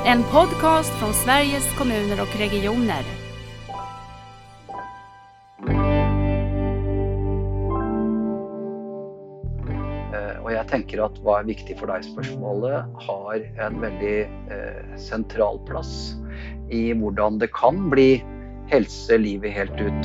En podcast från Sveriges kommuner och regioner. Og jeg tenker at hva viktig for deg spørsmålet har en veldig sentral plass I hvordan det kan bli helse livet helt ut.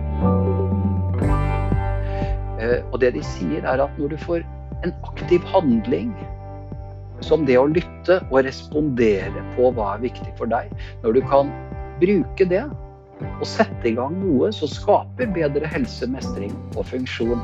Og det de sier at når du får en aktiv handling, som det å lytte og respondere på hva viktig for deg, når du kan bruke det og sette I gang noe som skaper bedre helse, mestring og funksjon.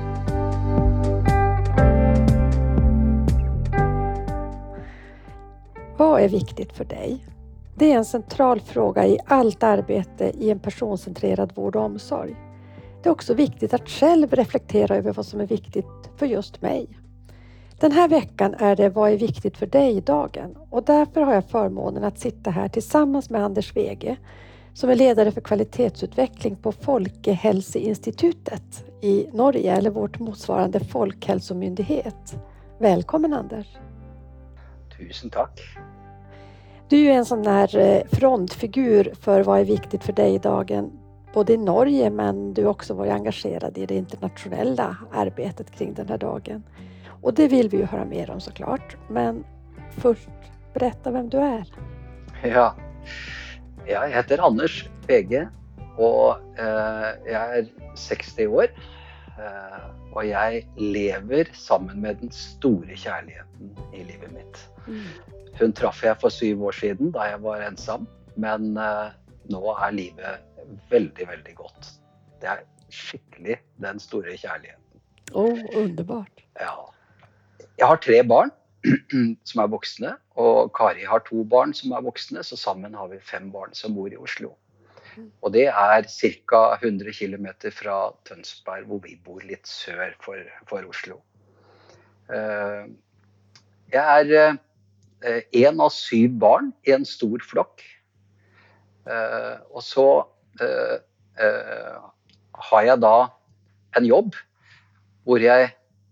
Vad är viktigt för dig? Det är en central fråga I allt arbete I en personcentrerad vård och omsorg. Det är också viktigt att själv reflektera över vad som är viktigt för just mig. Den här veckan är det Vad är viktigt för dig-dagen och därför har jag förmånen att sitta här tillsammans med Anders Wege som är ledare för kvalitetsutveckling på Folkehelseinstitutet I Norge eller vårt motsvarande folkhälsomyndighet. Välkommen Anders! Tusen tack! Du är ju en sån här frontfigur för vad är viktigt för dig-dagen både I Norge men du har också varit engagerad I det internationella arbetet kring den här dagen. Och det vill vi ju höra mer om såklart. Men först, berätta vem du är. Ja, jag heter Anders Wege och jag är 60 år. Och jag lever sammen med den store kärleken I livet mitt. Hun traff jeg for 7 år siden da jeg var ensam, men nå livet veldig, veldig godt. Det skikkelig den store kjærligheten. Underbart. Ja. Jeg har 3 barn som voksne, og Kari har 2 barn som voksne, så sammen har vi 5 barn som bor I Oslo. Og det cirka 100 kilometer fra Tønsberg, hvor vi bor litt sør for Oslo. Jeg en av 7 barn I en stor flokk. Og så har jeg da en jobb hvor jeg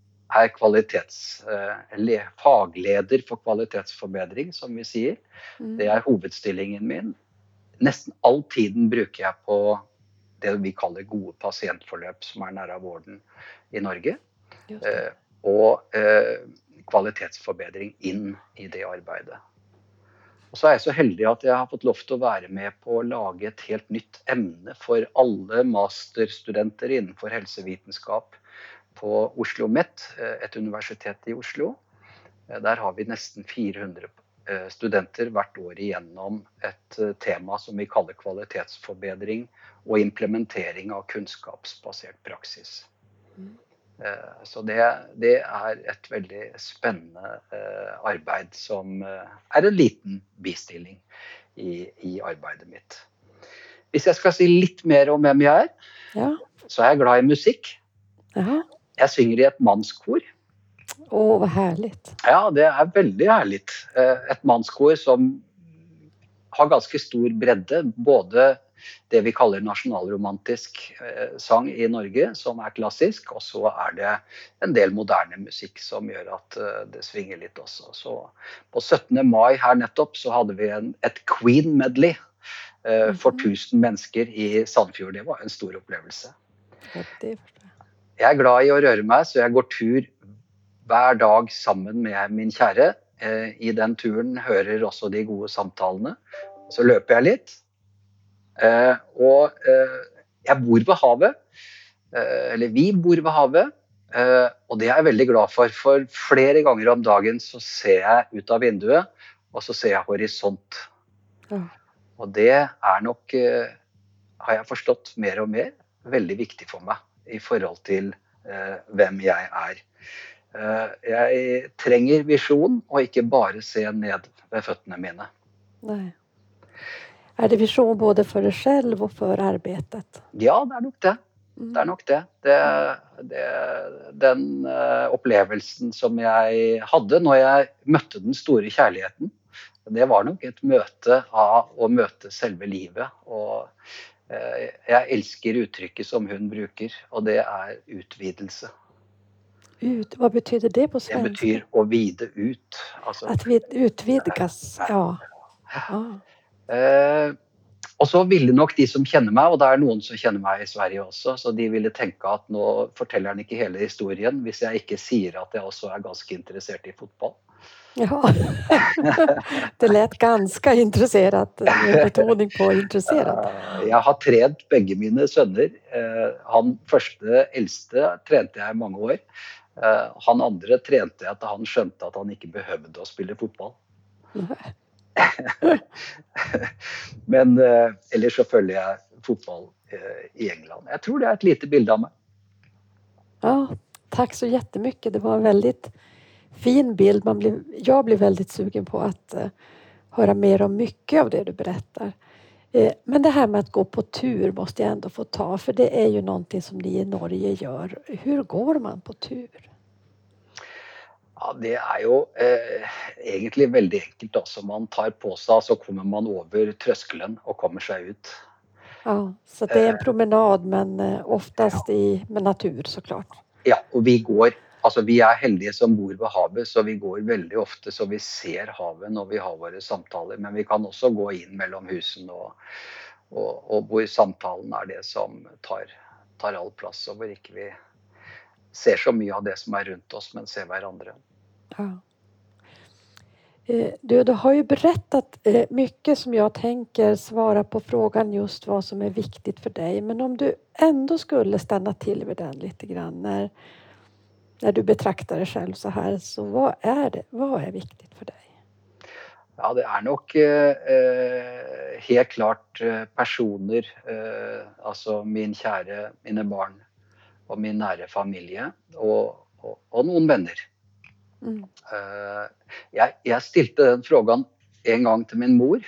fagleder for kvalitetsforbedring, som vi sier. Det hovedstillingen min. Nesten all tiden bruker jeg på det vi kaller gode pasientforløp, som nære vården I Norge. Og kvalitetsforbedring inn I det arbeidet. Og så jeg så heldig at jeg har fått lov til å være med på å lage et helt nytt emne for alle masterstudenter innenfor helsevitenskap på Oslo Met, et universitet I Oslo. Der har vi nesten 400 studenter hvert år igjennom et tema som vi kaller kvalitetsforbedring og implementering av kunnskapsbasert praksis. Så det et veldig spennende arbeid som en liten bistilling I arbeidet mitt. Hvis jeg skal si litt mer om hvem jeg så jeg glad I musikk. Jeg synger I et mannskor. Vad härligt. Ja, det veldig härligt. Et mannskor som har ganske stor bredde, både det vi kaller nasjonalromantisk sang I Norge, som klassisk, og så det en del moderne musikk som gjør at det svinger litt også. Så på 17. mai her nettopp så hadde vi et Queen medley for 1000 mennesker I Sandfjord. Det var en stor opplevelse. Jeg glad I å røre meg, så jeg går tur hver dag sammen med min kjære. I den turen hører også de gode samtalene. Så løper jeg litt. Og jeg bor ved havet, eller vi bor ved havet, og det jeg veldig glad for flere ganger om dagen så ser jeg ut av vinduet, og så ser jeg horisont. Og det nok, har jeg forstått mer og mer, veldig viktig for meg I forhold til hvem jeg Jeg trenger visjon, og ikke bare se ned ved føttene mine. Nej. Det vision både för dig själv och för arbetet? Ja, det nok det. Det nok det. Den opplevelsen som jeg hadde når jeg møtte den store kjærligheten, det var nok et møte av å møte selve livet. Og jeg elsker uttrykket som hun bruker, og det utvidelse. Vad betyder det på svenska? Det betyder å vide ut. Att vi utvidgas, ja. Ah, Eh, og så ville nok de som kjenner meg, og det er noen som kjenner meg i Sverige også, så de ville tenke at nå forteller han ikke hele historien hvis jeg ikke sier at jeg også er ganske interessert i fotball. ja. Det lät ganska intresserat, med betoning på intresserad. Jeg har trent begge mine sønner. Han første eldste trente jeg i mange år. Han andre trente jeg til han skjønte at han ikke behøvde å spille fotball. Nej. Men ellers så følger jeg fotball i England. Jeg tror det er et lite bilde av meg. Ja, tack så jättemycket. Det var en väldigt fin bild. Jag blev väldigt sugen på att höra mer om mycket av det du berättar. Men det här med att gå på tur måste jag ändå få ta, för det är ju någonting som ni i Norge gör. Hur går man på tur? Ja, det er jo egentlig veldig enkelt også. Man tar på seg, så kommer man over trøskelen og kommer seg ut. Ja, så det är en promenad, men oftast med natur såklart. Ja, og vi er heldige som bor ved havet, så vi går veldig ofte så vi ser havet når vi har våre samtaler. Men vi kan også gå inn mellom husene og hvor samtalen er det som tar all plass, og hvor ikke vi ser så mye av det som er rundt oss, men ser hverandre. Ja. Du har ju berättat mycket som jag tänker svara på frågan just vad som är viktigt för dig. Men om du ändå skulle stanna till vid den lite grann när du betraktar dig själv så här, så vad är viktigt för dig? Ja, det er nok helt klart personer, altså min kjære, mine barn og min nære familie og noen venner. Mm. Jeg stilte den frågan en gang til min mor,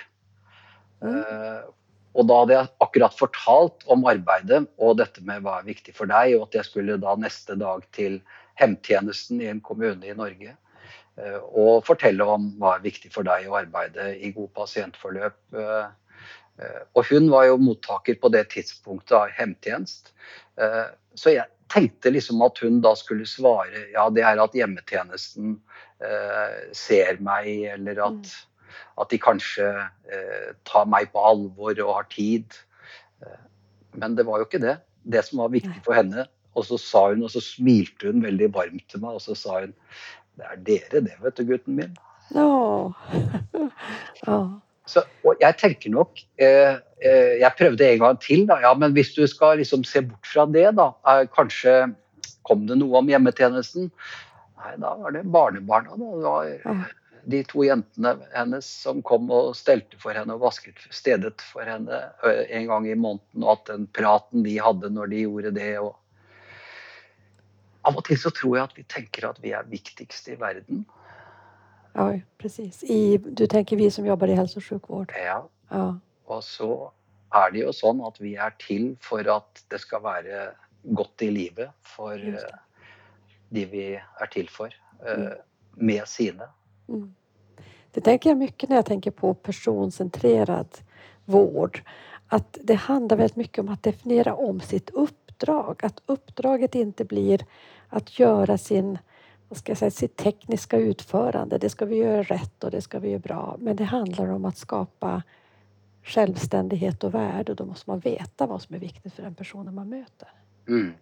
og da hadde jeg akkurat fortalt om arbeidet og dette med hva er viktig for deg, og at jeg skulle da neste dag til hemtjenesten i en kommune i Norge og fortelle om hva er viktig for deg å arbeide i god pasientforløp. Og hun var jo mottaker på det tidspunktet av hemtjenest, så jeg tenkte liksom at hun da skulle svare, ja, det er at hjemmetjenesten ser meg, eller at de kanskje tar meg på alvor og har tid. Men det var jo ikke det som var viktig for henne. Og så sa hun, og så smilte hun veldig varmt til meg, og så sa hun, det er dere det, vet du, gutten min. Ja. Ja. Så, og jeg tenker nok, jeg prøvde en gang til da, ja, men hvis du skal liksom se bort fra det da, kanskje kom det noe om hjemmetjenesten? Nei, da var det barnebarna da, det var de 2 jentene hennes som kom og stelte for henne og vasket stedet for henne en gang i måneden, og at den praten de hadde når de gjorde det, og av og til så tror jeg at vi tenker at vi er viktigst i verden. Ja, precis. Du tänker vi som jobbar i hälso- och sjukvård. Ja. Ja. Og så er det jo sånn at vi er til for at det skal være godt i livet for de vi er til for, med sine. Mm. Det tänker jag mycket när jag tänker på personcentrerad vård. Att det handlar väldigt mycket om att definiera om sitt uppdrag. Att uppdraget inte blir att göra sitt tekniska utförande. Det ska vi göra rätt och det ska vi göra bra. Men det handlar om att skapa självständighet och värde. Och då måste man veta vad som är viktigt för den personen man möter. Mm.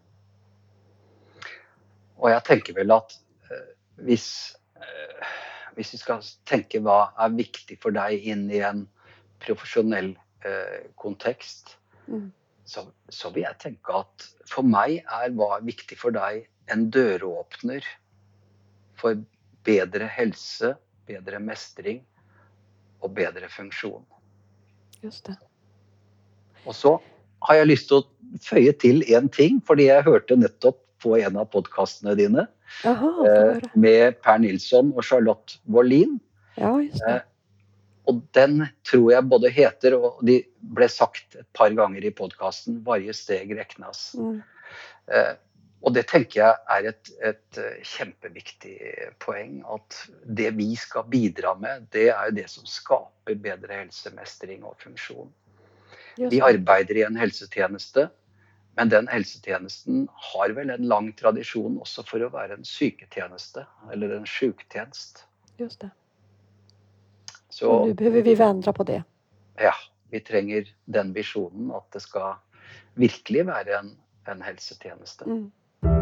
Og jeg tenker vel at hvis vi skal tenke hva er viktig for deg inn i en profesjonell kontekst, så vil jeg tenke at for meg hva er viktig for deg en døråpner for bedre helse, bedre mestring og bedre funksjon. Just det. Og så har jeg lyst til å føye til en ting, fordi jeg hørte nettopp på en av podcastene dine, med Per Nilsson og Charlotte Wåhlin. Ja, just det. Og den tror jeg både heter, og de ble sagt et par ganger i podcasten, Varje steg räknas. Og det tenker jeg et kjempeviktig poeng, at det vi skal bidra med, det er det som skaper bedre helsemestring og funksjon. Vi arbeider i en helsetjeneste, men den helsetjenesten har vel en lang tradisjon også for å være en syketjeneste, eller en sjuktjenest. Just det. Så Och nu behöver vi vända på det. ja, vi trenger den visjonen at det skal virkelig være en helsetjeneste. Mm.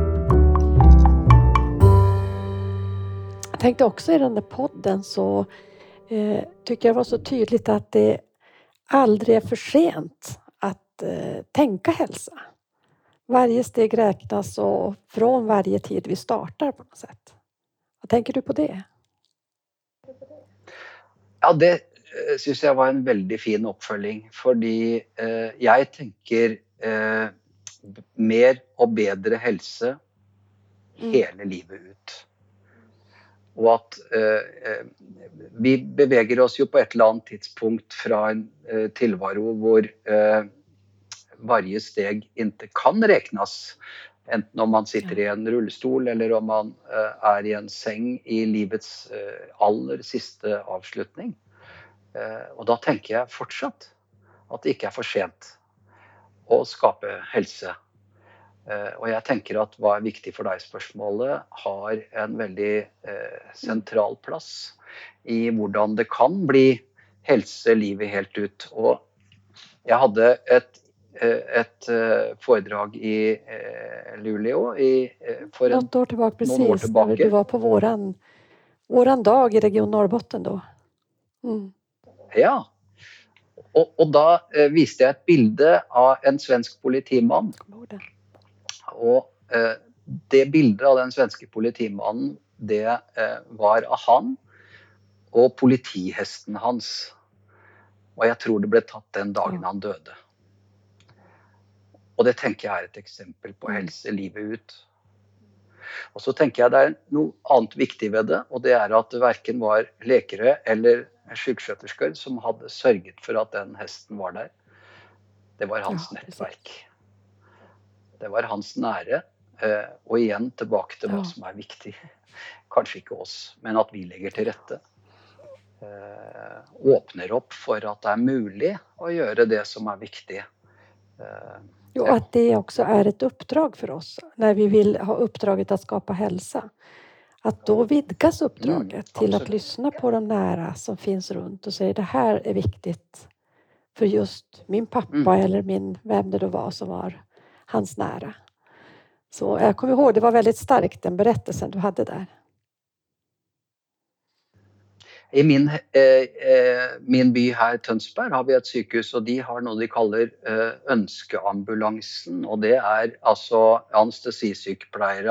Jag tänkte också i den där podden så tycker jag det var så tydligt att det aldrig är för sent att tänka hälsa. Varje steg räknas och från varje tid vi startar på något sätt. Vad tänker du på det? Ja, det synes jeg var en veldig fin oppfølging, fordi jeg tenker mer og bedre helse hele livet ut. Og at vi beveger oss jo på et eller annet tidspunkt fra en tilvaro hvor varje steg inte kan räknas. Enten om man sitter i en rullestol eller om man är i en säng i livets aller siste avslutning. Og da tenker jeg fortsatt at det ikke er for sent å skape helse. Og jeg tenker at hva er viktig for deg spørsmålet har en veldig sentral plass i hvordan det kan bli helse livet helt ut. Og jeg hadde et foredrag i Luleå for Något år tillbaka, noen år precis, tilbake. när du var på våran dag i Region Norrbotten då. Mm. Ja, og da viste jeg et bilde av en svensk politimann. Kommer ihåg det. Og det bildet av den svenske politimannen, det var av han og politihesten hans. Og jeg tror det ble tatt den dagen han døde. Og det tenker jeg er et eksempel på helse livet ut. Og så tenker jeg det er noe annet viktig ved det, og det er at det hverken var lekere eller sykskjøtersker som hadde sørget for at den hesten var der. Det var hans nettverk. Det var hans nære, og igjen tilbake til hva som er viktig. Kanskje ikke oss, men at vi legger til rette. Åpner opp for at det er mulig å gjøre det som er viktig. Jo, att det också är ett uppdrag för oss när vi vill ha uppdraget att skapa hälsa. Att då vidgas uppdraget till att lyssna på de nära som finns runt och säga det här är viktigt för just min pappa eller vem det då var som var hans nära. Så jag kommer ihåg, det var väldigt starkt den berättelsen du hade där. I min by her, Tønsberg, har vi et sykehus, og de har noe de kaller ønskeambulansen. Og det er altså anestesisykepleiere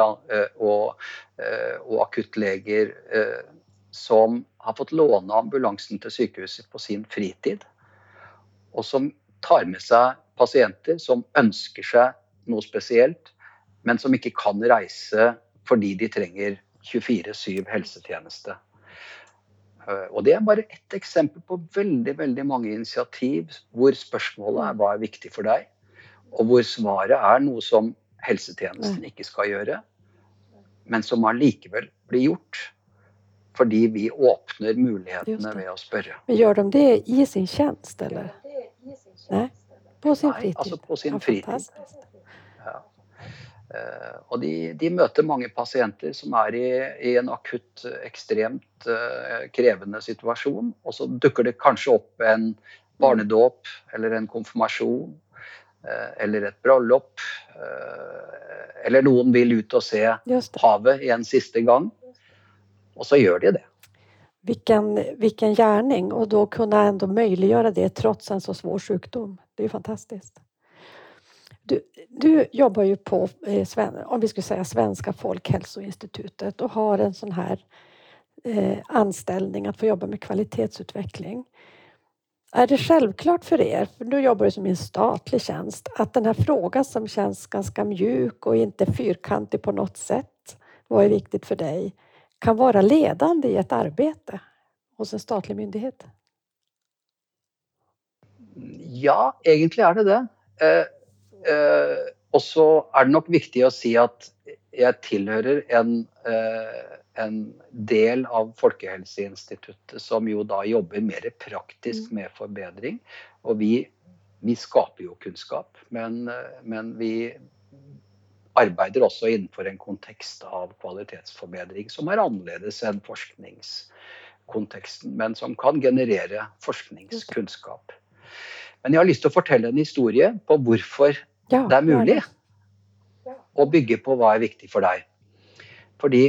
og akuttleger som har fått låne ambulansen til sykehuset på sin fritid. Og som tar med seg pasienter som ønsker seg noe spesielt, men som ikke kan reise fordi de trenger 24/7 helsetjeneste. Og det er bare ett eksempel på veldig, veldig mange initiativ hvor spørsmålet er hva er viktig for deg, og hvor svaret er noe som helsetjenesten ikke skal gjøre, men som allikevel blir gjort, fordi vi åpner mulighetene ved å spørre. Men gör de det i sin tjänst eller? Nej, på sin fritid. Nei, altså på sin fritid. Fantastiskt. Ja. Og de møter mange pasienter som er i en akutt, ekstremt krevende situasjon, og så dukker det kanskje opp en barnedåp, eller en konfirmasjon, eller et bryllup, eller noen vil ut og se havet en siste gang, og så gjør de det. Vilken gärning, och då kunna ändå möjliggöra det trots en så svår sjukdom. Det är ju fantastiskt. Du jobbar ju på, om vi skulle säga Svenska folkhälsoinstitutet, och har en sån här anställning att få jobba med kvalitetsutveckling. Är det självklart för er, för du jobbar ju som i en statlig tjänst, att den här frågan som känns ganska mjuk och inte fyrkantig på något sätt, vad är viktigt för dig, kan vara ledande i ett arbete hos en statlig myndighet? Ja, egentlig er det det. Og så er det nok viktig å si at jeg tilhører en del av Folkehelseinstituttet som jo da jobber mer praktisk med forbedring. Og vi skaper jo kunnskap, men vi arbeider også innenfor en kontekst av kvalitetsforbedring som er annerledes enn konteksten, men som kan generere forskningskunnskap. Men jeg har lyst til å fortelle en historie på hvorfor Ja, det er mulig gärna. å bygge på hva er viktig for deg. Fordi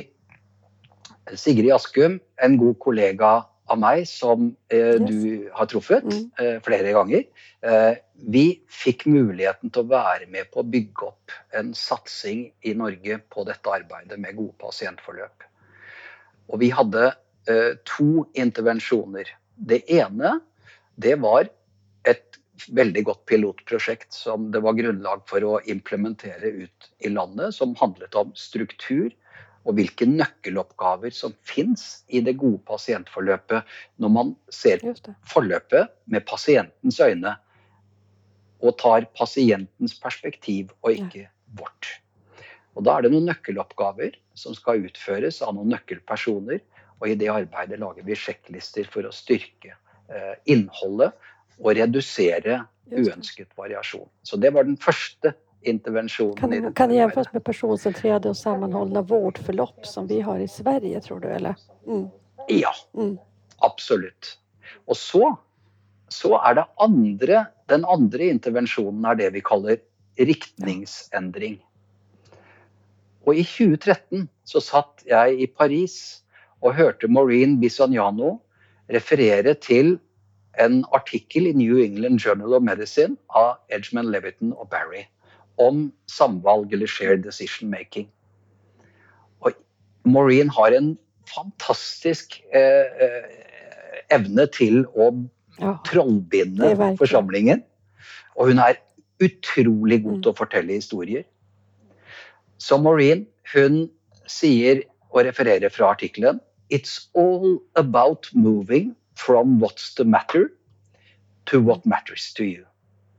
Sigrid Askum, en god kollega av meg som du har truffet flere ganger, vi fikk muligheten til å være med på å bygge opp en satsing i Norge på dette arbeidet med gode pasientforløp. Og vi hadde 2 intervensjoner. Det ene, det var et veldig godt pilotprosjekt som det var grunnlag for å implementere ut i landet, som handlet om struktur og hvilke nøkkeloppgaver som finnes i det gode pasientforløpet når man ser forløpet med pasientens øyne og tar pasientens perspektiv og ikke vårt. Og da er det noen nøkkeloppgaver som skal utføres av noen nøkkelpersoner, og i det arbeidet lager vi sjekklister for å styrke innholdet og redusere uønsket variasjon. Så det var den første intervensjonen. Kan det jämföras med personcentrerade och sammanhållna vårdförlopp som vi har i Sverige, tror du, eller? Ja, absolutt. Og så er det den andre intervensjonen er det vi kaller riktningsendring. Og i 2013 så satt jeg i Paris og hørte Maureen Bisogno referere til en artikkel i New England Journal of Medicine av Edgeman, Leviton og Barry om samvalg eller shared decision making. Og Maureen har en fantastisk evne til å trollbinde forsamlingen, og hun er utrolig god til å fortelle historier. Så Maureen, hun sier og refererer fra artikkelen: "It's all about moving from what's the matter to what matters to you."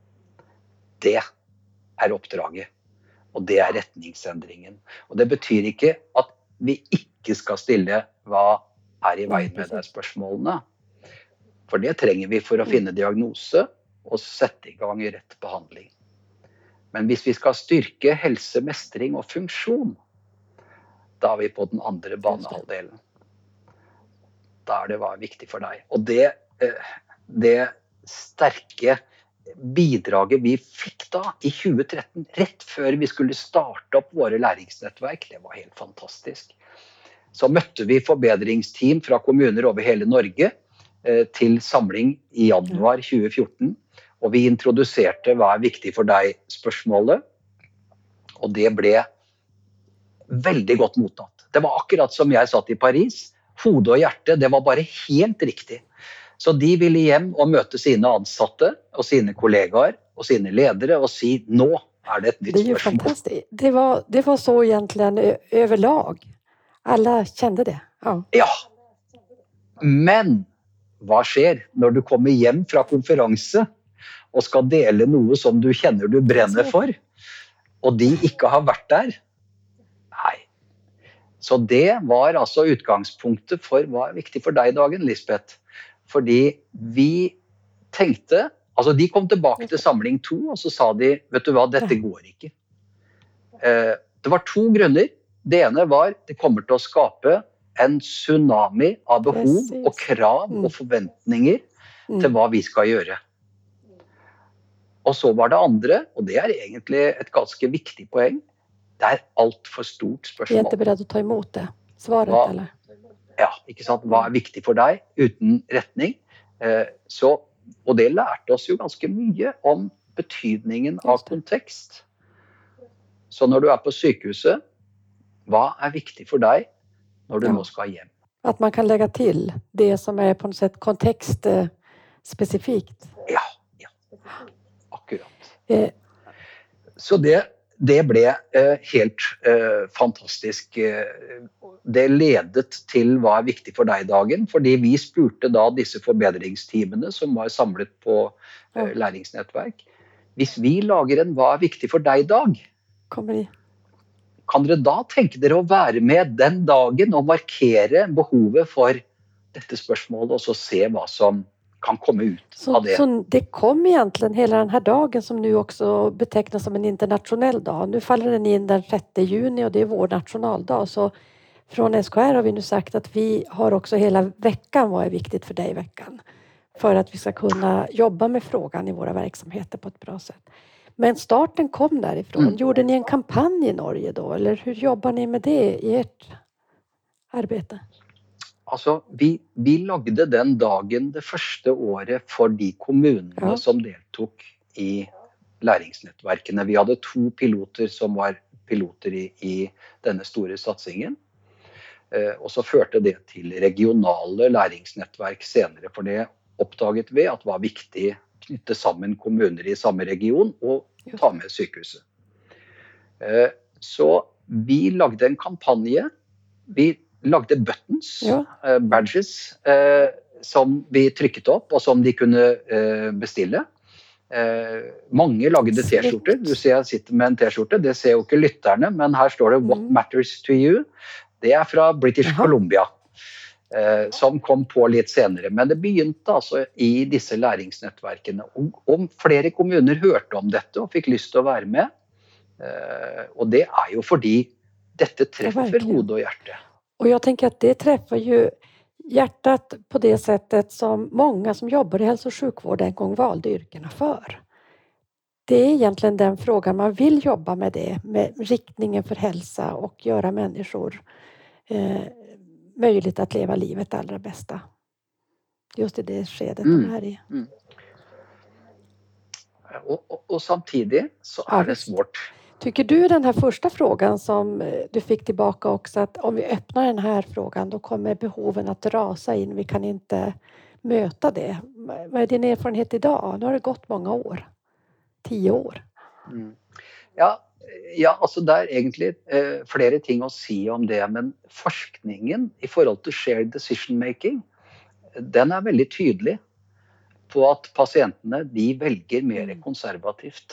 Det er oppdraget, og det er retningsendringen. Og det betyr ikke at vi ikke skal stille hva er i veien med de spørsmålene. For det trenger vi for å finne diagnose og sette i gang rett behandling. Men hvis vi skal styrke helse, mestring og funksjon, da er vi på den andre banehalvdelen. Da er det hva er viktig for deg. Og det sterke bidraget vi fikk da i 2013, rett før vi skulle starte opp våre læringsnettverk, det var helt fantastisk. Så møtte vi forbedringsteam fra kommuner over hele Norge til samling i januar 2014, og vi introduserte hva er viktig for deg spørsmålet, og det ble veldig godt mottatt. Det var akkurat som jeg satt i Paris, hode og hjerte, det var bare helt riktig. Så de ville hjem og møte sine ansatte og sine kollegaer og sine ledere og si, nå er det et nytt spørsmål. Det är ju fantastiskt. Det var så egentligen överlag. Alla kände det. Ja. Men hva skjer når du kommer hjem fra konferanse og skal dele noe som du kjenner du brenner for, og de ikke har vært der? Nei. Så det var altså utgangspunktet for hva er viktig for deg i dagen, Lisbeth. Fordi vi tenkte, altså de kom tilbake til samling 2, og så sa de, vet du hva, dette går ikke. Det var 2 grunner. Det ene var, det kommer til å skape en tsunami av behov og krav og forventninger til hva vi skal gjøre. Og så var det andre, og det er egentlig et ganske viktig poeng, det er alt for stort spørsmål. Vi er ikke beredt å ta imot det, svaret, eller? Ja, ikke sant? Hva er viktig for deg uten retning? Og det lærte oss jo ganske mye om betydningen av kontekst. Så når du er på sykehuset, hva er viktig for deg når du nå skal hjem? At man kan legge til det som er på noe sett kontekstspesifikt. Ja, akkurat. Så det ble helt fantastisk. Det ledet til hva er viktig for deg i dagen, fordi vi spurte da disse forbedringsteamene som var samlet på læringsnettverk. Hvis vi lager en hva er viktig for deg i dag, kan dere da tenke dere å være med den dagen og markere behovet for dette spørsmålet, og så se hva som kan komme ut av det. Så det kom egentligen hela den här dagen som nu också betecknas som en internationell dag. Nu faller den in den 6 juni och det är vår nationaldag. Så från SKR har vi nu sagt att vi har också hela veckan, vad är viktigt för dig i veckan. För att vi ska kunna jobba med frågan i våra verksamheter på ett bra sätt. Men starten kom därifrån. Gjorde ni en kampanj i Norge då? Eller hur jobbar ni med det i ert arbete? Altså, vi lagde den dagen det første året for de kommunene som deltok i læringsnettverkene. Vi hadde 2 piloter som var piloter i denne store satsingen. Og så førte det til regionale læringsnettverk senere, for det oppdaget vi at var viktig å knytte sammen kommuner i samme region og ta med sykehuset. Så vi lagde en kampanje. Vi lagde buttons, badges, som vi trykket opp og som de kunne bestille. Mange lagde t-skjorter. Du ser jeg sitter med en t-skjorte. Det ser jo ikke lytterne, men her står det What Matters to You. Det er fra British Columbia, som kom på litt senere. Men det begynte altså i disse læringsnettverkene. Og flere kommuner hørte om dette og fikk lyst til å være med. Och det är ju fordi detta träffar hode och hjärta. Och jag tänker att det träffar ju hjärtat på det sättet som många som jobbar i hälso- och sjukvård en gång valde yrkena för. Det är egentligen den frågan man vill jobba med det, med riktningen för hälsa och göra människor möjligt att leva livet allra bästa. Just i det skedet de är i. Och samtidigt så är det svårt. Tycker du den här första frågan som du fick tillbaka också, att om vi öppnar den här frågan då kommer behoven att rasa in, vi kan inte möta det. Vad är din erfarenhet idag? Nu har det gått många år, 10 år. Ja, altså det er egentlig flere ting å si om det, men forskningen i forhold til shared decision making, den er veldig tydelig på at pasientene, de velger mer konservativt,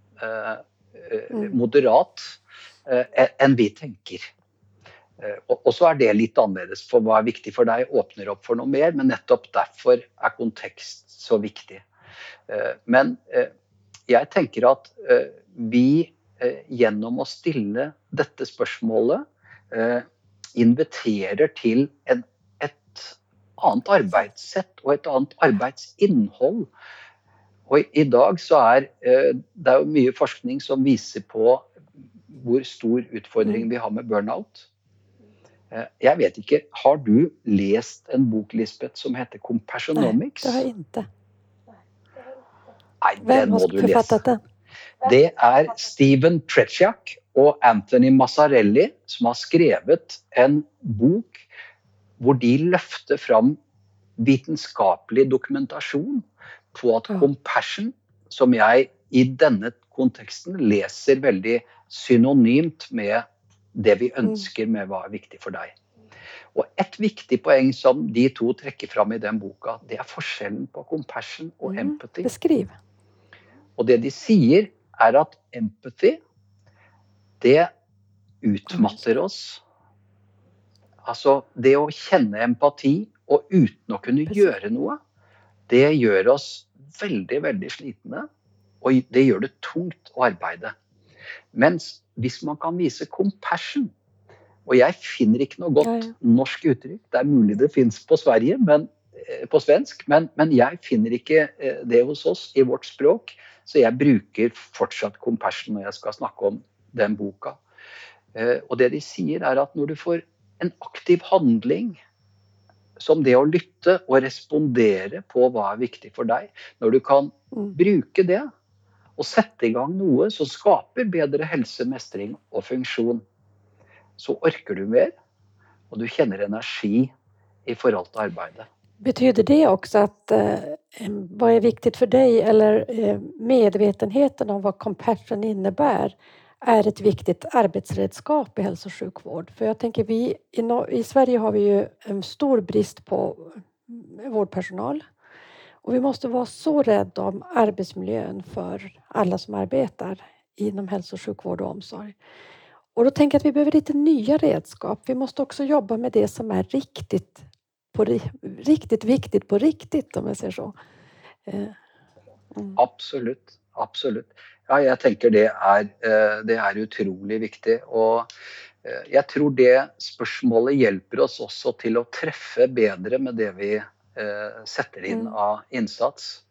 moderat, enn vi tenker. Og så er det litt annerledes, for hva er viktig for deg åpner opp for noe mer, men nettopp derfor er kontekst så viktig. Men jeg tenker at vi gjennom å stille dette spørsmålet inviterer til et annet arbeidssett og et annet arbeidsinnhold. Og i dag så det jo mye forskning som viser på hvor stor utfordring vi har med burnout. Jeg vet ikke, har du lest en bok, Lisbeth, som heter Compassionomics? Nej, det har jeg ikke. Nei, den må du lese. Hvem har forfattet den? Det Steven Pretsjak og Anthony Massarelli som har skrevet en bok hvor de løfter fram vitenskapelig dokumentasjon på at compassion, som jeg i denne konteksten leser veldig synonymt med det vi ønsker med hva viktig for deg. Og et viktig poeng som de to trekker fram i den boka, det forskjellen på compassion og empathy. Beskriv. Og det de sier at empathy, det utmatter oss. Altså, det å kjenne empati og uten å kunne gjøre noe, det gjør oss veldig, veldig slitne, og det gjør det tungt å arbeide. Mens hvis man kan vise compassion, og jeg finner ikke noe godt norsk uttrykk, det mulig det finnes på svensk, men jeg finner ikke det hos oss i vårt språk, så jeg bruker fortsatt compassion når jeg skal snakke om den boka. Og det de sier at når du får en aktiv handling, som det å lytte og respondere på hva viktig for deg, når du kan bruke det og sette i gang noe som skaper bedre helse, mestring og funksjon, så orker du mer, og du kjenner energi i forhold til arbeidet. Betyder det också att vad är viktigt för dig, eller medvetenheten om vad compassion innebär är ett viktigt arbetsredskap i hälso- och sjukvård? För jag tänker i Sverige har vi ju en stor brist på vårdpersonal. Och vi måste vara så rädda om arbetsmiljön för alla som arbetar inom hälso- och sjukvård och omsorg. Och då tänker jag att vi behöver lite nya redskap. Vi måste också jobba med det som är riktigt viktigt på riktigt, om jag säger så. Absolutt. Ja, jeg tenker det er utrolig viktig. Og Jeg tror det spørsmålet hjelper oss også til å treffe bedre med det vi setter inn av innsats.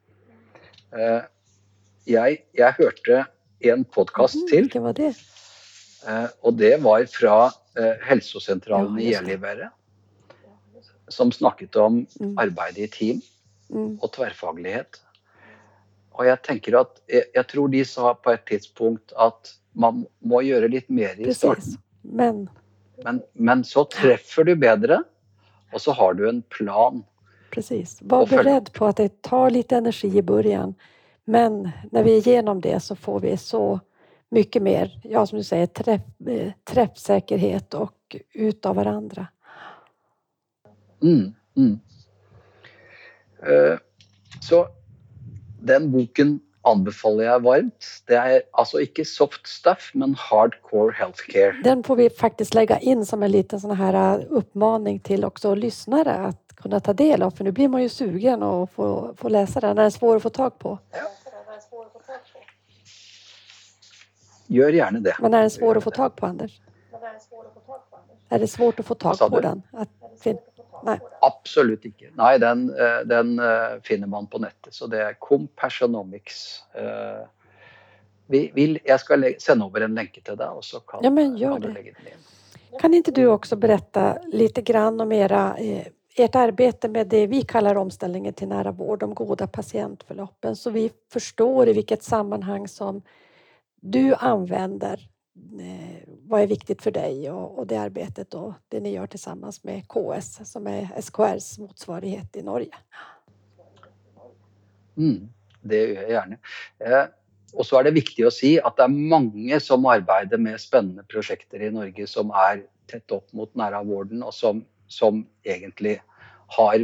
Jeg hørte en podcast til, Vilken var det? og det var fra helsesentralen Ja, i just det. Gällivare, som snakket om arbeid i team og tverrfaglighet. Og jeg tenker at, jeg tror de sa på et tidspunkt at man må gjøre litt mer i starten. Precis. Men så treffer du bedre, og så har du en plan. Precis. Var Och följa beredd på att det tar lite energi i början. Men när vi är igenom det så får vi så mycket mer, ja som du säger, träffsäkerhet och ut av varandra. Så den boken anbefaler jeg varmt. Det er altså ikke soft stuff, men hardcore healthcare. Den får vi faktiskt lägga in som en liten sån här uppmaning till också lyssnare att kunna ta del av. För nu blir man ju sugen och få läsa den. Den är svår att få tag på. Gör gjerne det. Men är den svår att få tag på, Anders? Är det svårt att få tag på den? Nej. Absolutt ikke. Nei, den finner man på nettet. Så det er Compassionomics. Jeg skal sende over en lenke til deg, og så kan du legge den inn. Kan inte du också berätta lite grann om ert arbete med det vi kallar omställningen till nära vård, de goda patientförloppen, så vi förstår i vilket sammanhang som du använder vad är viktigt för dig och det arbetet och det ni gör tillsammans med KS som är SKRs motsvarighet i Norge. Det gjør jeg gjerne. Og så er det viktig å si at det er mange som arbeider med spennende prosjekter i Norge som er tett opp mot nære vården, og som egentlig har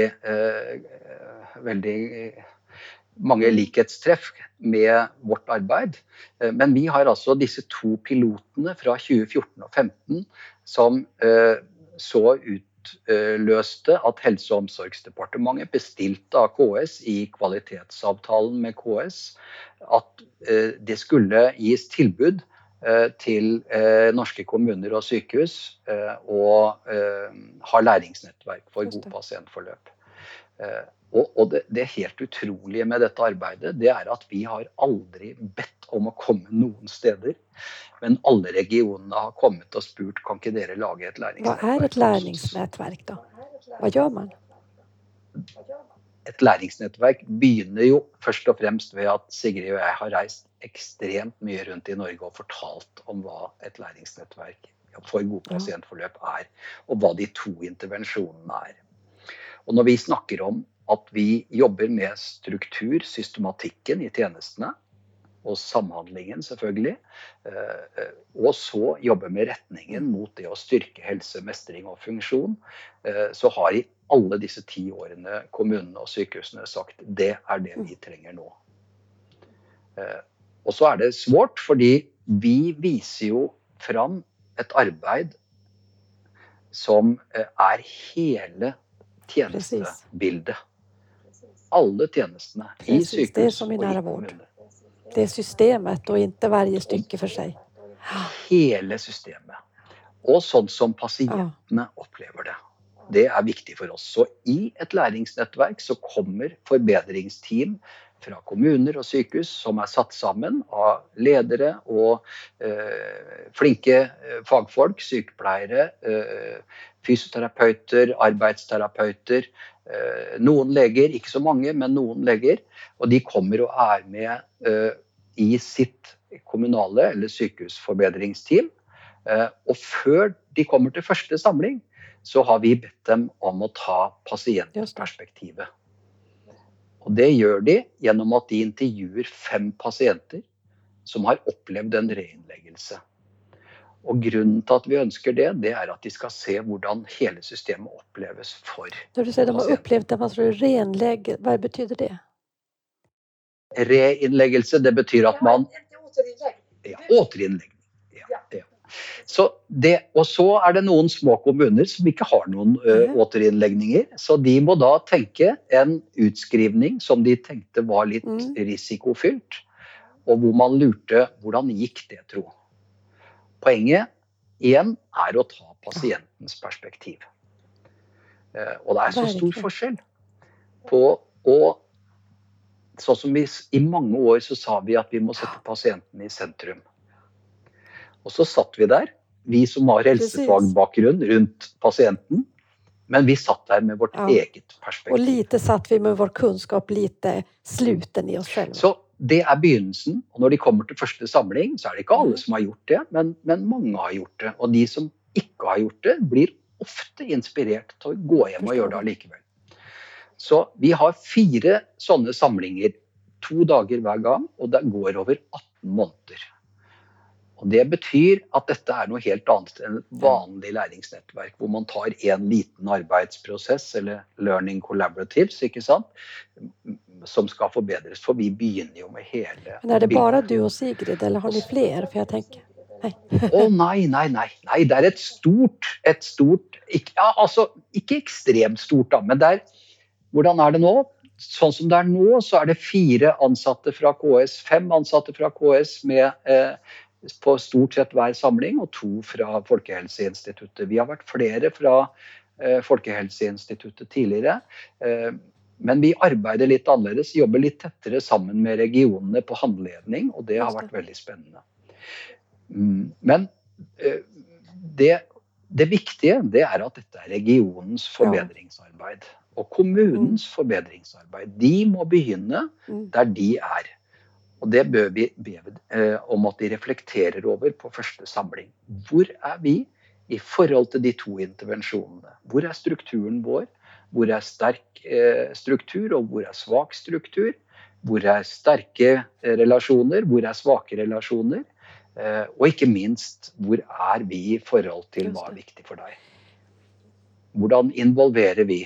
veldig mange likhetstreff med vårt arbeid. Men vi har altså disse 2 pilotene fra 2014 og 2015 som så utløste at Helse- og omsorgsdepartementet bestilte av KS i kvalitetsavtalen med KS at det skulle gis tilbud til norske kommuner og sykehus og ha læringsnettverk for god pasientforløp. Og det helt utrolige med dette arbeidet, det er at vi har aldri bedt om å komme noen steder, men alle regionene har kommet og spurt, kan ikke dere lage et læringsnettverk? Vad är ett läringsnätverk då? Vad gör man? Et læringsnettverk begynner jo først og fremst ved at Sigrid og jeg har reist ekstremt mye rundt i Norge og fortalt om hva et læringsnettverk for god pasientforløp er, og hva de 2 intervensjonene er. Og når vi snakker om at vi jobber med struktur, systematikken i tjenestene, og samhandlingen selvfølgelig, og så jobber med retningen mot det å styrke helse, mestring og funksjon, så har i alle disse 10 årene kommunene og sykehusene sagt, det er det vi trenger nå. Og så er det svårt, fordi vi viser jo fram et arbeid som er hele tjenestebildet. Alle tjenestene i sykehus og i kommuner. Det är systemet och inte varje stycke för sig. Hele systemet. Og sånn som pasientene opplever det. Det er viktig for oss. Så i et læringsnettverk så kommer forbedringsteam fra kommuner og sykehus som er satt sammen av ledere og flinke fagfolk, sykepleiere, fysioterapeuter, arbeidsterapeuter, noen leger, ikke så mange, men noen leger, og de kommer og er med i sitt kommunale eller sykehusforbedringsteam, og før de kommer til første samling, så har vi bedt dem om å ta pasientperspektivet. Og det gjør de gjennom at de intervjuer 5 pasienter som har opplevd en reinnleggelse. Og grunnen til at vi ønsker det, det er at de skal se hvordan hele systemet oppleves for pasienter. Når du sier de har opplevd det, hva betyder det? Reinnleggelse, det betyr at man... Återinnlegging. Så det, og så er det noen små kommuner som ikke har noen återinnlegninger, så de må da tenke en utskrivning som de tenkte var litt risikofylt, og hvor man lurte hvordan gikk det, tro. Poenget en å ta pasientens perspektiv. Og det så stor Verkligen. forskjell på å sånn som i mange år så sa vi at vi må sette pasienten i sentrum. Og så satt vi der, vi som har Precis. helsefagbakgrunn rundt pasienten, men vi satt där med vårt eget Och perspektiv. lite satt vi med vår kunskap lite sluten i oss själva. Så det begynnelsen, og når de kommer til første samling, så det ikke alle som har gjort det, men mange har gjort det. Og de som ikke har gjort det, blir ofte inspirert til å gå hjem og gjøre det allikevel. Så vi har 4 sånne samlinger, 2 dager hver gang, og det går over 18 måneder. Og det betyr at dette noe helt annet enn et vanlig læringsnettverk, hvor man tar en liten arbeidsprosess, eller learning collaboratives, ikke sant, som skal forbedres, for vi begynner jo med hele... Men det bare du og Sigrid, eller har ni flere? For jeg tenker... Nei, det et stort, ikke ekstremt stort da, men hvordan det nå? Sånn som det nå, så det 4 ansatte fra KS, 5 ansatte fra KS med på stort sett hver samling, og 2 fra Folkehelseinstituttet. Vi har vært flere fra Folkehelseinstituttet tidligere, men vi arbeider litt annerledes, jobber litt tettere sammen med regionene på handledning, og det har vært veldig spennende. Men det viktige, det at dette regionens forbedringsarbeid, og kommunens forbedringsarbeid. De må begynne der de Og det bør vi be om at de reflekterer over på første samling. Hvor vi i forhold til de 2 intervensjonene? Hvor strukturen vår? Hvor sterk struktur, og hvor svak struktur? Hvor sterke relasjoner? Hvor svake relasjoner? Og ikke minst, hvor vi i forhold til hva viktig for deg? Hvordan involverer vi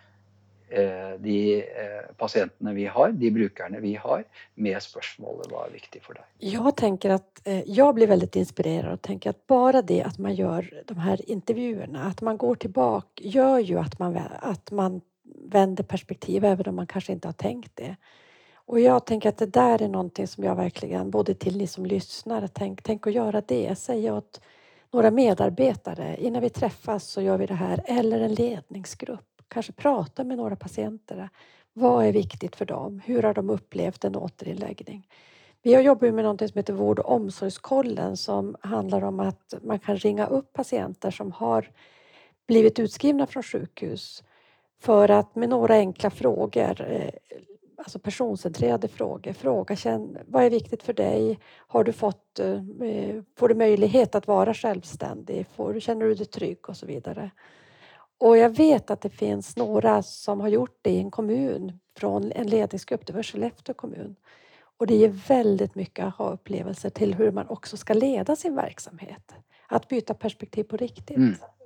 de patientene vi har, de brukerne vi har, med spørsmålet hva viktig for deg? Jag tänker att jag blir väldigt inspirerad och tänker att bara det att man gör de här intervjuerna, att man går tillbaka, gör ju att man vänder perspektiv även om man kanske inte har tänkt det. Och jag tänker att det där är någonting som jag verkligen, både till ni som lyssnar, tänk att göra det. Säga åt några medarbetare, innan vi träffas så gör vi det här, eller en ledningsgrupp. Kanske prata med några patienter. Vad är viktigt för dem? Hur har de upplevt en återinläggning? Vi har jobbat med något som heter vård- och omsorgskollen, som handlar om att man kan ringa upp patienter som har blivit utskrivna från sjukhus för att med några enkla frågor, alltså personcentrerade frågor, fråga vad är viktigt för dig? Har du får du möjlighet att vara självständig? Känner du dig trygg och så vidare? Och jag vet att det finns några som har gjort det i en kommun från en ledningsgrupp, det var Skellefteå kommun. Och det ger väldigt mycket aha-upplevelser till hur man också ska leda sin verksamhet. Att byta perspektiv på riktigt.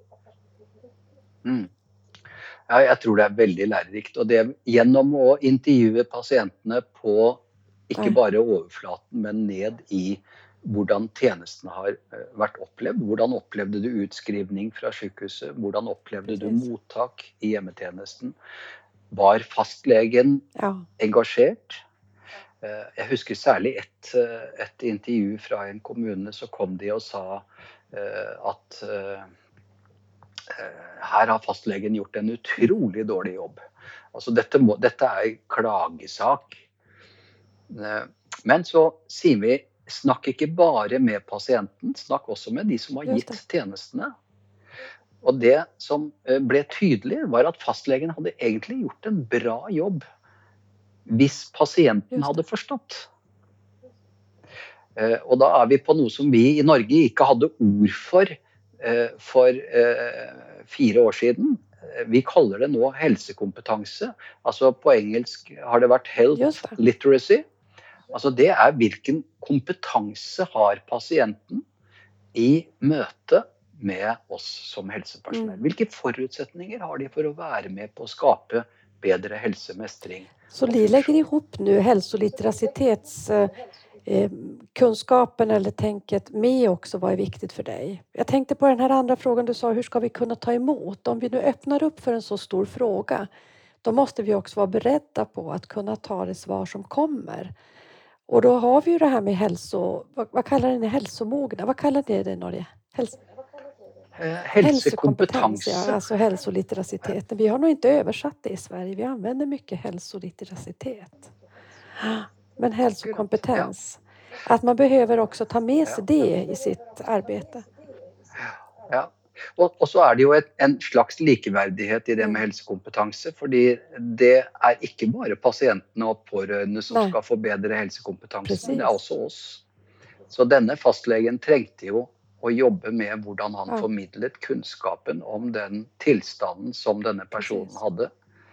Ja, jeg tror det veldig lærerikt. Og det gjennom å intervjue pasientene på ikke bare overflaten, men ned i hvordan tjenestene har vært opplevd. Hvordan opplevde du utskrivning fra sykehuset? Hvordan opplevde du mottak i hjemmetjenesten? Var fastlegen engasjert? Jeg husker særlig et intervju fra en kommune, så kom de og sa at her har fastlegen gjort en utrolig dårlig jobb. Altså dette klagesak. Men så sier vi, snakk ikke bare med pasienten, snakk også med de som har gitt tjenestene. Og det som ble tydelig var at fastlegen hadde egentlig gjort en bra jobb hvis pasienten hadde forstått. Og da vi på noe som vi i Norge ikke hadde ord for 4 år siden. Vi kaller det nå helsekompetanse. Altså på engelsk har det vært health literacy. Altså det hvilken kompetanse har pasienten i møte med oss som helsepersonell. Hvilke forutsetninger har de for å være med på å skape bedre helsemestring? Så ni lägger ihop nu hälsolitteracitetens kunskapen eller tänket med också vad är viktigt för dig. Jag tänkte på den här andra frågan du sa, hur ska vi kunna ta emot? Om vi nu öppnar upp för en så stor fråga, då måste vi också vara beredda på att kunna ta det svar som kommer. Och då har vi ju det här med vad kallar ni hälsomogna? Vad kallar ni det i Norge? Hälsokompetens, ja, Helsekompetanse. alltså hälsolitteracitet. Vi har nog inte översatt det i Sverige. Vi använder mycket hälsolitteracitet. Men Ja. hälsokompetens, att man behöver också ta med sig Ja. det i sitt arbete. Ja. Og så det jo en slags likeverdighet i det med helsekompetanse, fordi det ikke bare pasientene og pårørende som Nei. skal få bedre helsekompetanse, Precis. men det også oss. Så denne fastlegen trengte jo å jobbe med hvordan han Ja. formidlet kunnskapen om den tilstanden som denne personen Precis. hadde.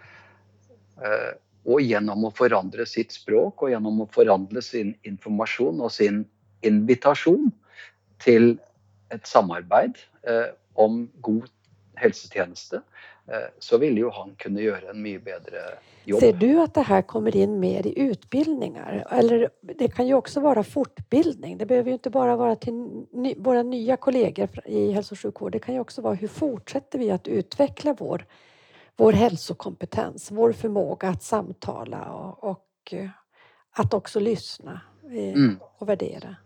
Og gjennom å forandre sitt språk, og gjennom å forandre sin informasjon og sin invitasjon til et samarbeid om god helsetjeneste, så ville jo han kunne gjøre en mye bedre jobb. Ser du att det här kommer in mer i utbildningar? Eller det kan ju också vara fortbildning. Det behöver ju inte bara vara till våra nya kollegor i hälso- och sjukvård. Det kan ju också vara hur fortsätter vi att utveckla vår hälsokompetens, vår förmåga att samtala och att också lyssna och värdera.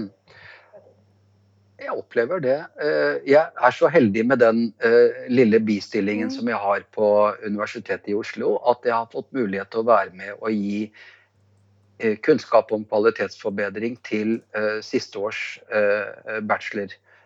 Jeg opplever det. Jeg så heldig med den lille bistillingen som jeg har på Universitetet i Oslo, at jeg har fått mulighet til å være med og gi kunnskap om kvalitetsforbedring til siste års bachelor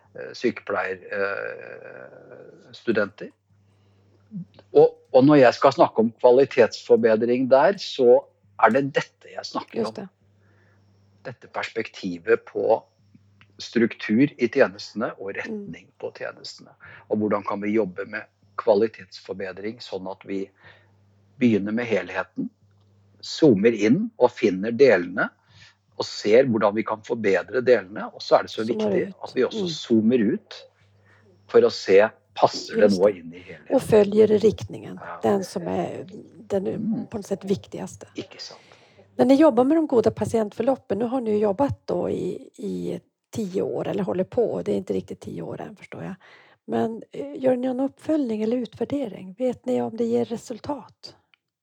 sykepleierstudenter. Og når jeg skal snakke om kvalitetsforbedring der, så det dette jeg snakker Just om. det. Dette perspektivet på struktur i tjenestene og retning på tjenestene. Og hvordan kan vi jobbe med kvalitetsforbedring sånn at vi begynner med helheten, zoomer inn og finner delene, og ser hvordan vi kan forbedre delene. Og så det så viktig at vi også zoomer ut for å se, passer det nå inn i helheten. Och följer riktningen, den som är den på något sätt viktigaste. Ikke sant. När ni jobbar med de goda patientförloppen, nu har ni jobbat då i 10 år eller håller på, det är inte riktigt 10 år än förstår jag. Men gör ni någon uppföljning eller utvärdering? Vet ni om det ger resultat?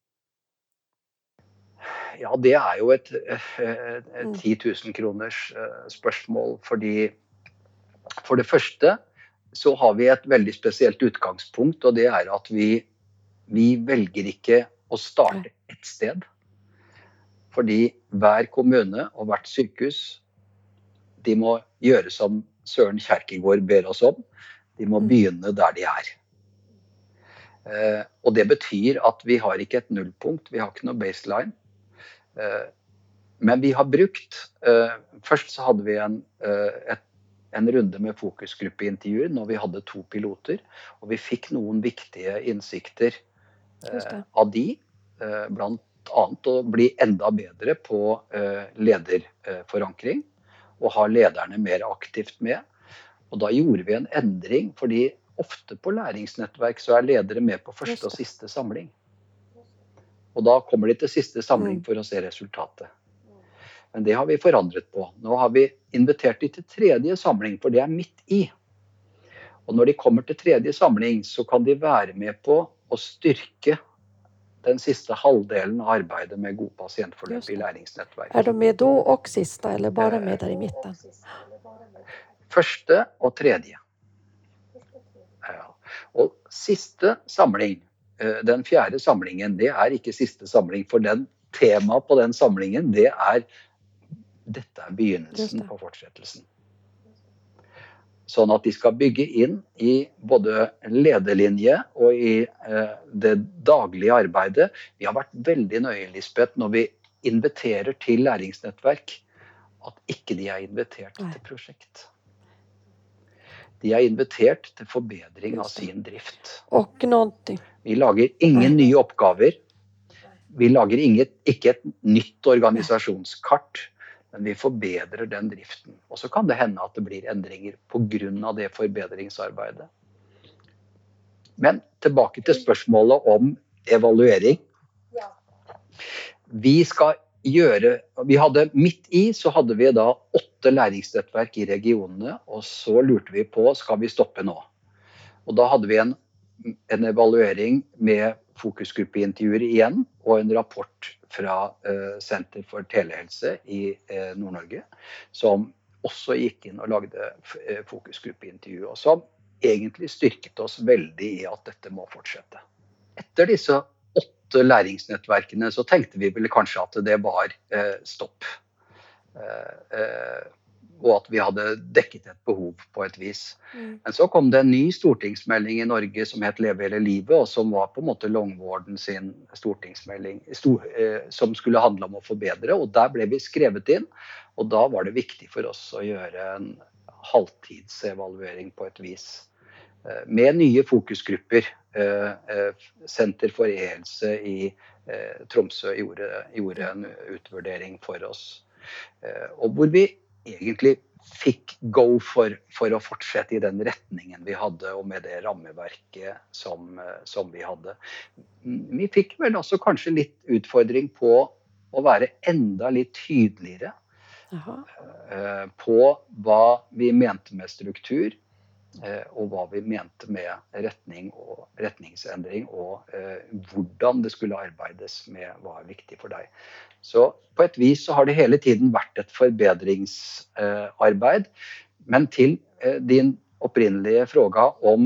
Ja, det jo et 10 000 kroners spørsmål, fordi for det første så har vi et veldig spesielt utgangspunkt, og det at vi velger ikke å starte et sted. Fordi hver kommune og hvert sykehus, de må gjøre som Søren Kierkegaard ber oss om. De må begynne der de Og det betyr at vi har ikke et nullpunkt, vi har ikke noe baseline. Men vi har brukt, først så hadde vi en runde med fokusgruppeintervjuer når vi hadde 2 piloter, og vi fikk noen viktige innsikter av de, blant annet å bli enda bedre på lederforankring, og ha lederne mer aktivt med. Og da gjorde vi en endring, fordi ofte på læringsnettverk så ledere med på første og siste samling. Og da kommer de til siste samling for å se resultatet. Men det har vi forandret på. Nå har vi invitert de til tredje samling, for det midt i. Og når de kommer til tredje samling, så kan de være med på å styrke den siste halvdelen av arbeidet med god pasientforløp i læringsnettverk. De med då och sista, eller bara med där i mitten? Første og tredje. Ja. Og siste samling, den fjerde samlingen, det ikke siste samling, for den temaet på den samlingen, det dette begynnelsen på fortsettelsen. Sånn at de skal bygge inn i både lederlinje og i det daglige arbeidet. Vi har vært veldig nøye, Lisbeth, når vi inviterer til læringsnettverk, at ikke de invitert til prosjekt. De invitert til forbedring av sin drift. Och någonting. Vi lager ingen nye oppgaver. Vi lager ikke et nytt organisasjonskart, men vi forbedrer den driften. Og så kan det hende at det blir endringer på grunn av det forbedringsarbeidet. Men tilbake til spørsmålet om evaluering. Vi hadde midt i, så hadde vi da 8 læringsnettverk i regionene, og så lurte vi på, skal vi stoppe nå? Og da hadde vi en evaluering med fokusgruppeintervjuer igjen, og en rapport fra Senter for Telehelse i Nord-Norge, som også gikk inn og lagde fokusgruppeintervju, og som egentlig styrket oss veldig i at dette må fortsette. Etter disse 8 læringsnettverkene så tenkte vi vel kanskje at det var stopp. Og at vi hadde dekket et behov på et vis. Men så kom det en ny stortingsmelding i Norge som het Leve hele livet, og som var på en måte Longvorden sin stortingsmelding, som skulle handle om å forbedre, og der ble vi skrevet inn, og da var det viktig for oss å gjøre en halvtidsevaluering på et vis. Med nye fokusgrupper. Senter for e-helse i Tromsø gjorde en utvurdering for oss. Og hvor vi egentlig fikk go for å fortsette i den retningen vi hadde, og med det rammeverket som vi hadde. Vi fikk vel også kanskje litt utfordring på å være enda litt tydeligere på hva vi mente med struktur, og hva vi mente med retning og retningsendring, og hvordan det skulle arbeides med hva er viktig for deg. Så på et vis så har det hele tiden vært et forbedringsarbeid, men til din opprinnelige fråga om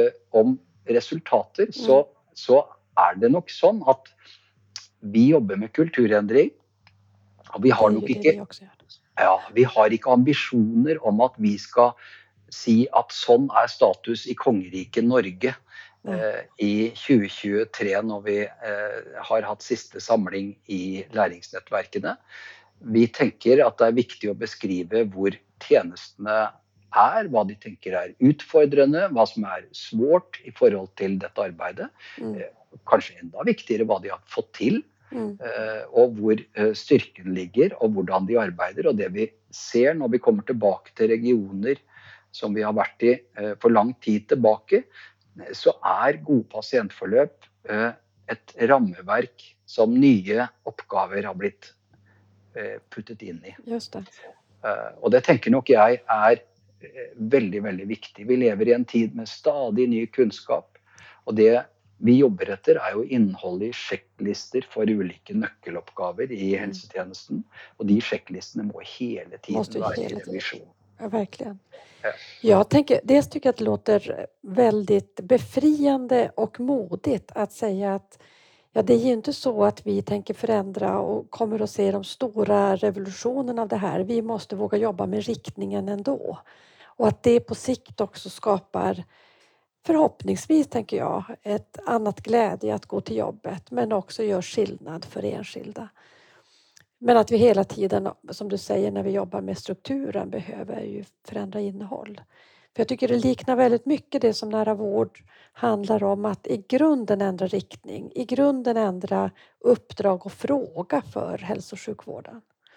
resultater, så er det nok sånn at vi jobber med kulturendring, og vi har nok ikke, vi har ikke ambisjoner om at vi skal si at sånn er status i kongeriket Norge i 2023 når vi har hatt siste samling i læringsnettverkene. Vi tenker at det er viktig å beskrive hvor tjenestene hva de tenker er utfordrende, hva som er svårt i forhold til dette arbeidet. Kanskje enda viktigere hva de har fått til, og hvor styrken ligger, og hvordan de arbeider. Og det vi ser når vi kommer tilbake til regioner som vi har vært i for lang tid tilbake, så er gode pasientforløp et rammeverk som nye oppgaver har blitt puttet inn i. Just det. Og det tenker nok jeg er veldig, veldig viktig. Vi lever i en tid med stadig ny kunnskap, og det vi jobber etter er jo innholdet i sjekklister for ulike nøkkeloppgaver i helsetjenesten, og de sjekklistene må hele tiden være i revisjon. Ja, verkligen. Jag tycker att det låter väldigt befriande och modigt att säga att det är ju inte så att vi tänker förändra och kommer att se de stora revolutionerna av det här. Vi måste våga jobba med riktningen ändå. Och att det på sikt också skapar, förhoppningsvis tänker jag, ett annat glädje att gå till jobbet, men också gör skillnad för enskilda. Men att vi hela tiden, som du säger, när vi jobbar med strukturen behöver ju förändra innehåll. För jag tycker det liknar väldigt mycket det som nära vård handlar om, att i grunden ändra riktning, i grunden ändra uppdrag och fråga för hälso- och sjukvården.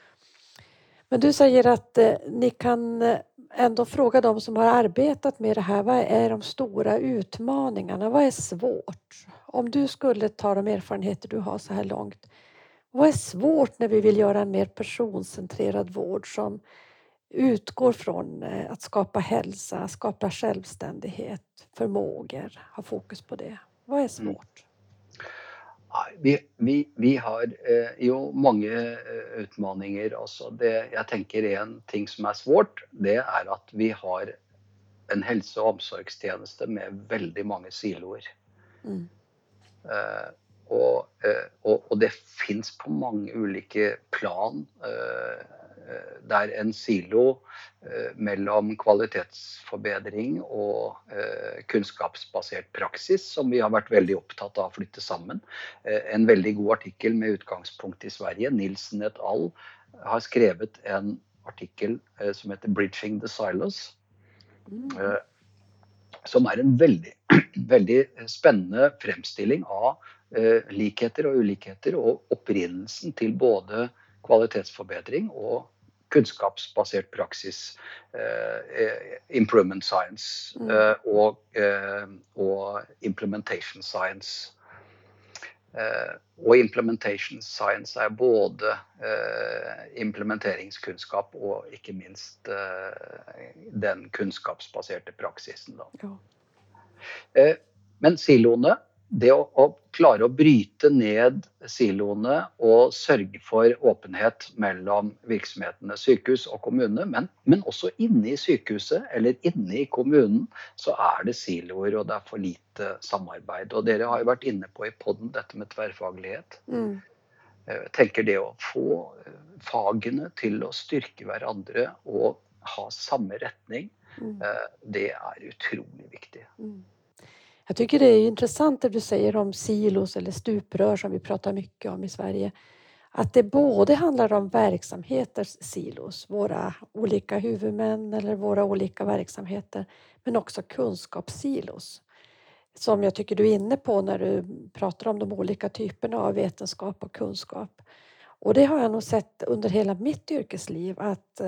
Men du säger att ni kan ändå fråga de som har arbetat med det här, vad är de stora utmaningarna, vad är svårt? Om du skulle ta de erfarenheter du har så här långt, vad är svårt när vi vill göra en mer personcentrerad vård som utgår från att skapa hälsa, skapa självständighet, förmågor, ha fokus på det? Vad är svårt? Vi har jo mange utmaninger også. Jeg tenker en ting som er svårt, det er at vi har en helse- og omsorgstjeneste med veldig mange siloer. Og det finnes på mange ulike plan, der en silo mellom kvalitetsforbedring og kunnskapsbasert praksis, som vi har vært veldig opptatt av å flytte sammen. En veldig god artikkel med utgangspunkt i Sverige, Nilsen et al., har skrevet en artikkel som heter Bridging the Silos, som er en veldig, veldig spennende fremstilling av likheter og ulikheter, og opprinnelsen til både kvalitetsforbedring og kunnskapsbasert praksis, improvement science og implementation science. Og implementation science er både implementeringskunnskap og ikke minst den kunnskapsbaserte praksisen. Da. Men siloene det å klare å bryte ned siloene og sørge for åpenhet mellom virksomhetene, sykehus og kommune, men også inne i sykehuset eller inne i kommunen, så det siloer og det for lite samarbeid. Og dere har jo vært inne på i podden dette med tverrfaglighet. Jeg tenker det å få fagene til å styrke hverandre og ha samme retning, det utrolig viktig. Jag tycker det är intressant det du säger om silos eller stuprör som vi pratar mycket om i Sverige. Att det både handlar om verksamheters silos, våra olika huvudmän eller våra olika verksamheter, men också kunskapssilos. Som jag tycker du är inne på när du pratar om de olika typerna av vetenskap och kunskap. Och det har jag nog sett under hela mitt yrkesliv att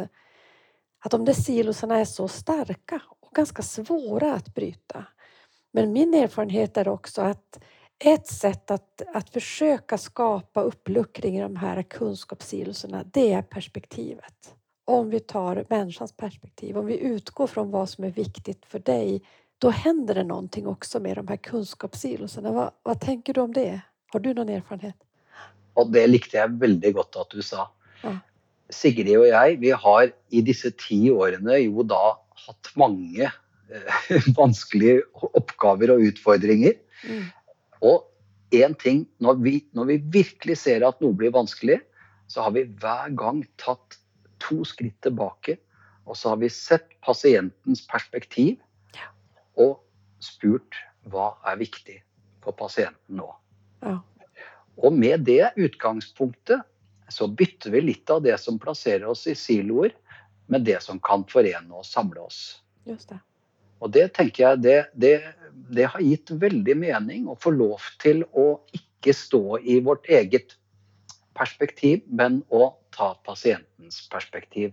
de där silosarna är så starka och ganska svåra att bryta. Men min erfarenhet är också att ett sätt att försöka skapa uppluckring i de här kunskapssiloserna, det är perspektivet. Om vi tar människans perspektiv, om vi utgår från vad som är viktigt för dig, då händer det någonting också med de här kunskapssiloserna. Vad tänker du om det? Har du någon erfarenhet? Og det likte jeg veldig godt at du sa. Ja. Sigrid og jeg, vi har i disse 10 årene jo da hatt mange vanskelige oppgaver og utfordringer. Og en ting, når vi virkelig ser at noe blir vanskelig, så har vi hver gang tatt 2 skritt tilbake, og så har vi sett pasientens perspektiv, og spurt hva viktig for pasienten nå. Ja. Og med det utgangspunktet så bytter vi litt av det som plasserer oss i siloer, med det som kan forene og samle oss. Just det. Og det tenker jeg, det har gitt veldig mening å få lov til å ikke stå i vårt eget perspektiv, men å ta pasientens perspektiv.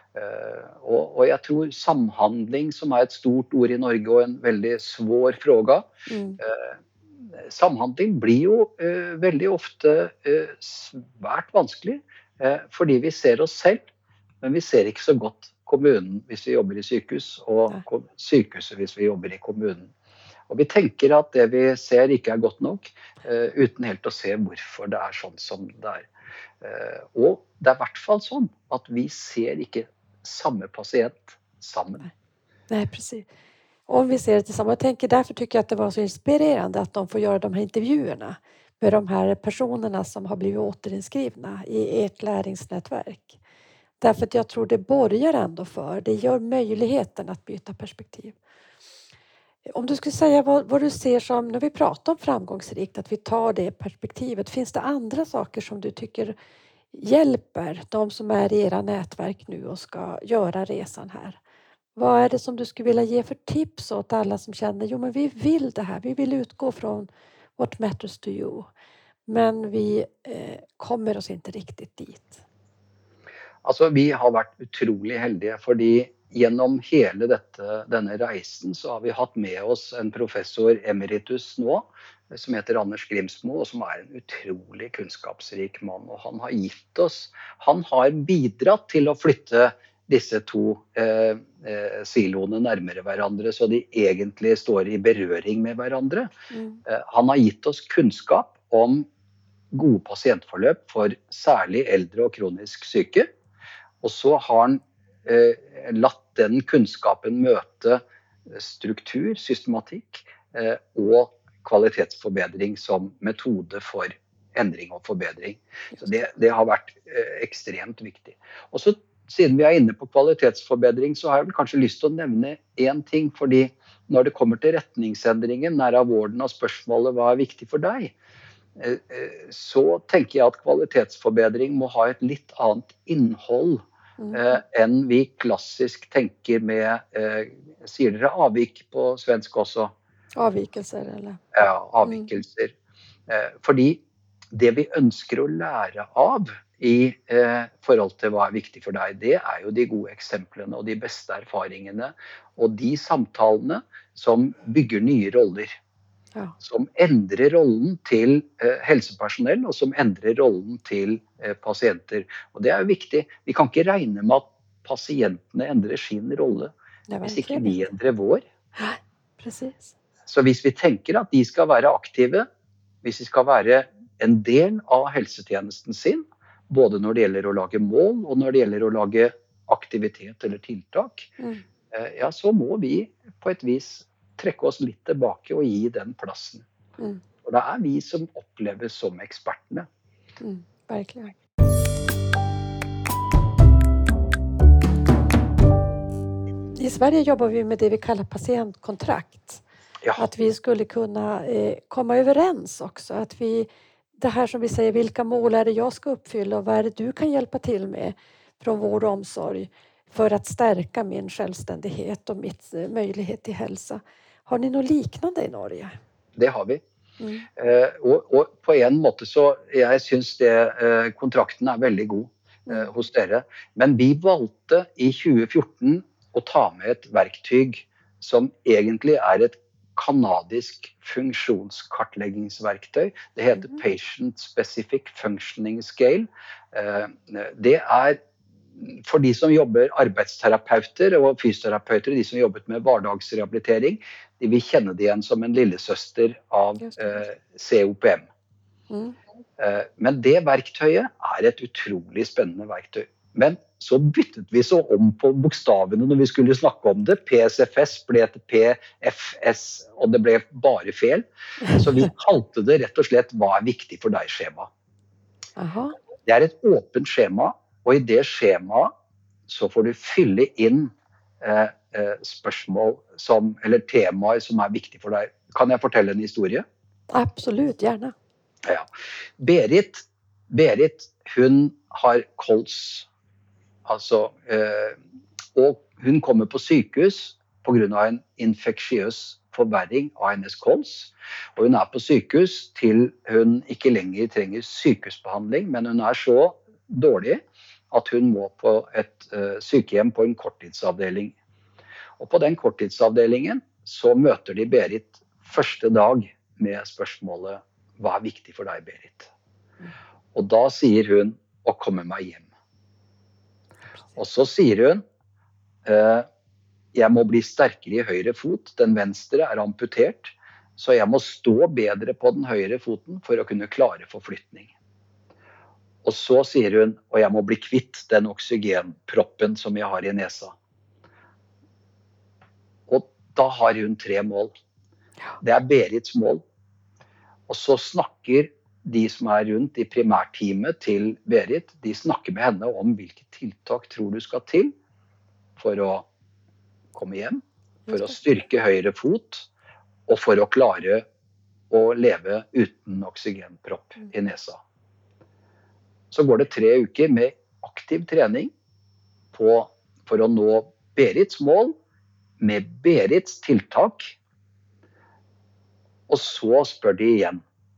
Og jeg tror samhandling, som et stort ord i Norge og en veldig svår fråga, samhandling blir jo veldig ofte svært vanskelig, fordi vi ser oss selv, men vi ser ikke så godt kommunen hvis vi jobber i sykehus, og sykehuset hvis vi jobber i kommunen. Og vi tenker at det vi ser ikke godt nok, uten helt å se hvorfor det sånn som det Og det i hvert fall sånn at vi ser ikke samme pasient sammen. Nej, precis. Om vi ser det tillsammans, därför tycker jag att det var så inspirerande att de får göra de här intervjuerna med de här personerna som har blivit återinskrivna i ert läringsnätverk. Därför att jag tror det borgar ändå för, det gör möjligheten att byta perspektiv. Om du skulle säga vad du ser som, när vi pratar om framgångsrikt, att vi tar det perspektivet, finns det andra saker som du tycker hjälper de som är i era nätverk nu och ska göra resan här? Vad är det som du skulle vilja ge för tips åt alla som känner, jo men vi vill det här, vi vill utgå från what matters to you, men vi kommer oss inte riktigt dit? Altså, vi har vært utrolig heldige, fordi gjennom hele denne reisen så har vi hatt med oss en professor emeritus nå, som heter Anders Grimsmo, og som en utrolig kunnskapsrik mann. Og han har bidratt til å flytte disse 2 siloene nærmere hverandre, så de egentlig står i berøring med hverandre. Han har gitt oss kunnskap om gode pasientforløp for særlig eldre og kronisk syke, og så har han latt den kunnskapen møte struktur, systematikk og kvalitetsforbedring som metode for endring og forbedring. Så det har vært ekstremt viktig. Og så, siden vi inne på kvalitetsforbedring, så har jeg vel kanskje lyst til å nevne en ting, fordi når det kommer til retningsendringen, nær av vården av spørsmålet hva viktig for deg, så tenker jeg at kvalitetsforbedring må ha et litt annet innhold enn vi klassisk tenker med, sier dere avvik på svensk også? Avvikelser, eller? Ja, avvikelser. Fordi det vi ønsker å lære av i forhold til hva viktig for deg, det jo de gode eksemplene og de beste erfaringene, og de samtalene som bygger nye roller. Ja. Som endrer rollen til helsepersonell, og som endrer rollen til pasienter. Og det jo viktig. Vi kan ikke regne med at pasientene endrer sin rolle, hvis ikke vi endrer vår. Precis. Så hvis vi tenker at de skal være aktive, hvis de skal være en del av helsetjenesten sin, både når det gjelder å lage mål og når det gjelder å lage aktivitet eller tiltak, ja, så må vi på et vis trekke oss litt tilbake og gi den plassen. Og det vi som oppleves som ekspertene. Verkligen. I Sverige jobbar vi med det vi kallar patientkontrakt. Ja. Att vi skulle kunna komma överens också. Att det här som vi säger, vilka mål är det jag ska uppfylla och vad är det du kan hjälpa till med från vård och omsorg för att stärka min självständighet och mitt möjlighet till hälsa. Har ni något liknande i Norge? Det har vi. Og på en måte så, jeg synes kontrakten veldig god hos dere. Men vi valgte i 2014 å ta med et verktøy som egentlig et kanadisk funksjonskartleggingsverktøy. Det heter Patient Specific Functioning Scale. Det for de som jobber arbeidsterapeuter og fysioterapeuter, de som jobbet med hverdagsrehabilitering, de vil kjenne det igjen som en lillesøster av COPM. Men det verktøyet et utrolig spennende verktøy. Men så byttet vi så om på bokstavene når vi skulle snakke om det. PSFS ble til PFS, og det ble bare feil. Så vi kalte det rett og slett hva viktig for deg skjema. Det et åpent skjema, og i det skjemaet så får du fylle inn spørsmål eller temaer som viktig for deg. Kan jeg fortelle en historie? Absolutt, gjerne. Ja. Berit, hun har kols. Altså, og hun kommer på sykehus på grunn av en infeksiøs forverring av hennes kols. Og hun på sykehus til hun ikke lenger trenger sykehusbehandling, men hun så dårlig at hun må på et sykehjem på en korttidsavdeling. Og på den korttidsavdelingen så møter de Berit første dag med spørsmålet hva viktig for deg, Berit? Og da sier hun å komme meg hjem. Og så sier hun jeg må bli sterkere i høyre fot, den venstre amputert, så jeg må stå bedre på den høyre foten for å kunne klare forflytning. Og så sier hun, og jeg må bli kvitt den oksygenproppen som jeg har i nesa. Og da har hun 3 mål. Det Berits mål. Og så snakker de som rundt i primærteamet til Berit, de snakker med henne om hvilke tiltak tror du skal til for å komme hjem, for å styrke høyre fot, og for å klare å leve uten oksygenpropp i nesa. Så går det 3 uker med aktiv trening for å nå Berits mål med Berits tiltak. Og så spør de igjen,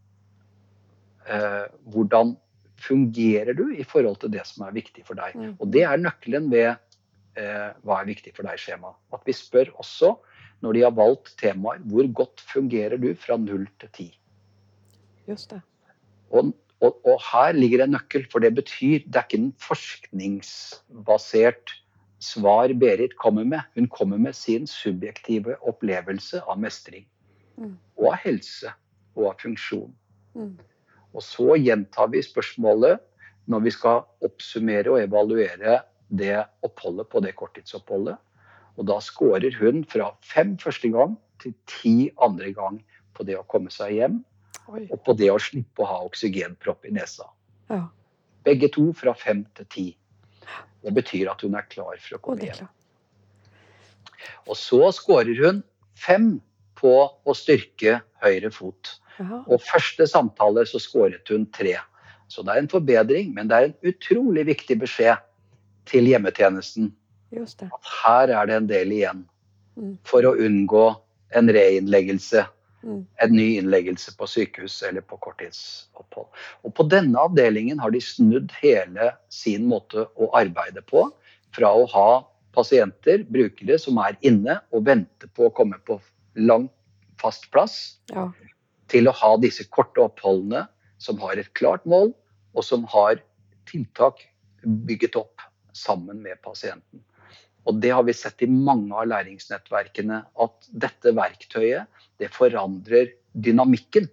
hvordan fungerer du i forhold til det som viktig for deg? Og det nøkkelen ved hva viktig for deg skjema. At vi spør også, når de har valgt temaer, hvor godt fungerer du fra 0 til 10? Just det. Og her ligger en nøkkel, for det betyr, det ikke en forskningsbasert svar Berit kommer med. Hun kommer med sin subjektive opplevelse av mestring, og av helse, og av funksjon. Og så gjentar vi spørsmålet når vi skal oppsummere og evaluere det oppholdet på det korttidsoppholdet. Og da skårer hun fra 5 første gang til 10 andre gang på det å komme seg hjem, og på det å slippe å ha oksygenpropp i nesa. Ja. Begge to fra 5 til 10. Det betyr at hun klar for å komme hjem. Og så skårer hun 5 på å styrke høyre fot. Og første samtale så skåret hun 3. Så det en forbedring, men det en utrolig viktig beskjed til hjemmetjenesten. Just det. At her det en del igjen for å unngå en reinnleggelse, en ny innleggelse på sykehus eller på korttidsopphold. Og på denne avdelingen har de snudd hele sin måte å arbeide på, fra å ha pasienter, brukere som inne og venter på å komme på lang fast plass, til å ha disse korte oppholdene som har et klart mål, og som har tiltak bygget opp sammen med pasienten. Og det har vi sett i mange av læringsnettverkene, at dette verktøyet, det forandrer dynamikken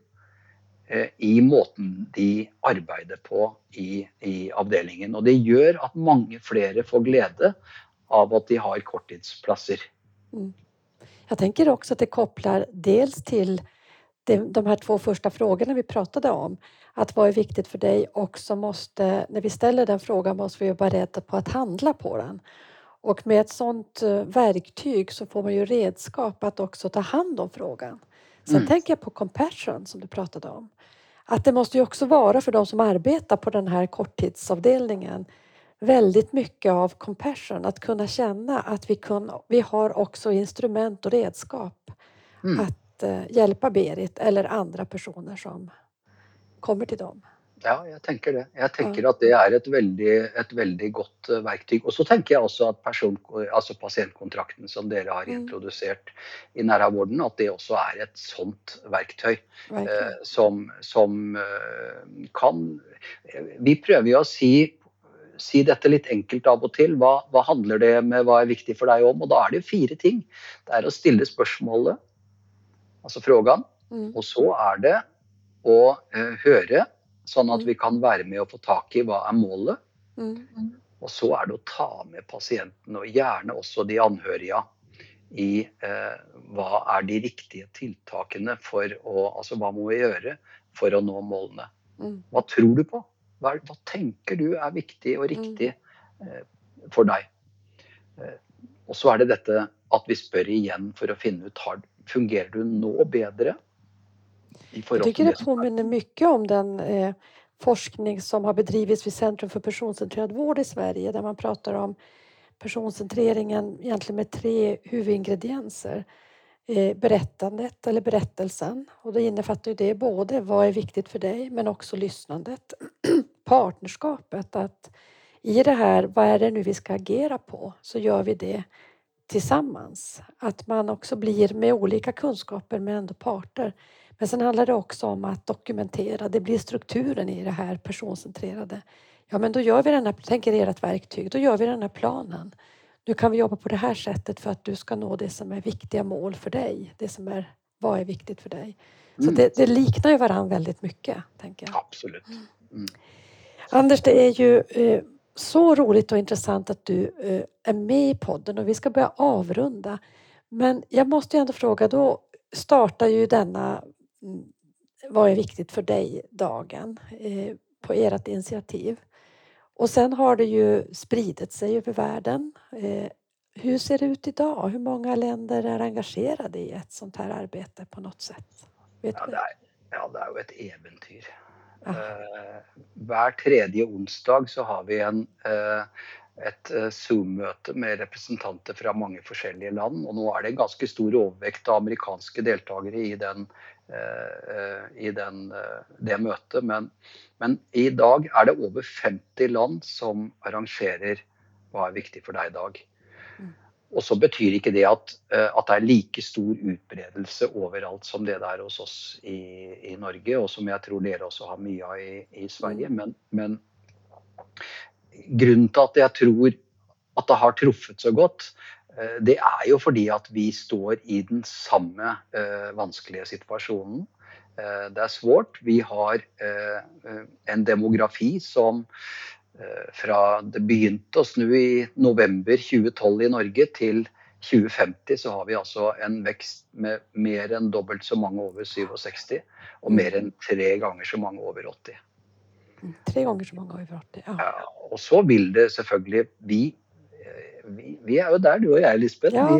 i måten de arbeider på i avdelingen. Og det gjør at mange flere får glede av att de har korttidsplatser. Jag tänker också att det kopplar dels till de här 2 första frågorna vi pratade om. Att vad är viktigt för dig, också måste, när vi ställer den frågan måste vi vara beredda på att handla på den. Och med ett sånt verktyg så får man ju redskap att också ta hand om frågan. Sen tänker jag på compassion som du pratade om. Att det måste ju också vara för de som arbetar på den här korttidsavdelningen väldigt mycket av compassion. Att kunna känna att vi har också instrument och redskap att hjälpa Berit eller andra personer som kommer till dem. Ja, jeg tenker det. Jeg tenker at det er et veldig godt verktøy. Og så tenker jeg også at pasientkontrakten som dere har introdusert i nærvården, at det også er et sånt verktøy som kan... Vi prøver jo å si dette litt enkelt av og til. Hva handler det med, hva er viktig for deg om? Og da er det 4 ting. Det er å stille spørsmålet, altså frågan, og så er det å høre, sånn at vi kan være med og få tak i hva er målet. Og så er det å ta med pasienten, og gjerne også de anhørige, i hva er de riktige tiltakene for å, altså hva må vi gjøre for å nå målene? Hva tror du på? Hva tenker du er viktig og riktig for deg? Og så er det dette at vi spør igjen for å finne ut, fungerer du nå bedre? Jag tycker det påminner mycket om den forskning som har bedrivits vid Centrum för personcentrerad vård i Sverige, där man pratar om personcentreringen egentligen med 3 huvudingredienser. Berättandet eller berättelsen, och det innefattar ju det både vad är viktigt för dig men också lyssnandet. Partnerskapet, att i det här, vad är det nu vi ska agera på, så gör vi det tillsammans. Att man också blir med olika kunskaper men ändå parter. Men sen handlar det också om att dokumentera, det blir strukturen i det här personcentrerade. Ja, men då gör vi den här, tänker ert verktyg, då gör vi den här planen. Nu kan vi jobba på det här sättet för att du ska nå det som är viktiga mål för dig. Det som är, vad är viktigt för dig. Så det liknar ju varandra väldigt mycket, tänker jag. Absolut. Anders, det är ju så roligt och intressant att du är med i podden, och vi ska börja avrunda. Men jag måste ju ändå fråga, då startar ju denna vad är viktigt för dig-dagen på ert initiativ. Och sen har det ju spridit sig över världen. Hur ser det ut idag? Hur många länder är engagerade i ett sånt här arbete på något sätt? Vet du? Det er jo et eventyr. Hver tredje onsdag så har vi et Zoom-møte med representanter fra mange forskjellige land, og nå er det en ganske stor overvekt av amerikanske deltakere i det møtet, men i dag er det over 50 land som arrangerer hva er viktig for deg i dag. Og så betyr ikke det at det er like stor utbredelse overalt som det der hos oss i Norge, og som jeg tror dere også har mye av i Sverige, men grunnen til at jeg tror at det har truffet så godt, det er jo fordi at vi står i den samme vanskelige situasjonen. Det er svårt. Vi har en demografi som fra det begynte å snu i november 2012 i Norge til 2050, så har vi altså en vekst med mer enn dobbelt så mange over 67, og mer enn 3 ganger så mange over 80. 3 ganger så mange over 80, ja. Ja, og så vil det selvfølgelig, vi er jo der, du og jeg, Lisbeth. Ja,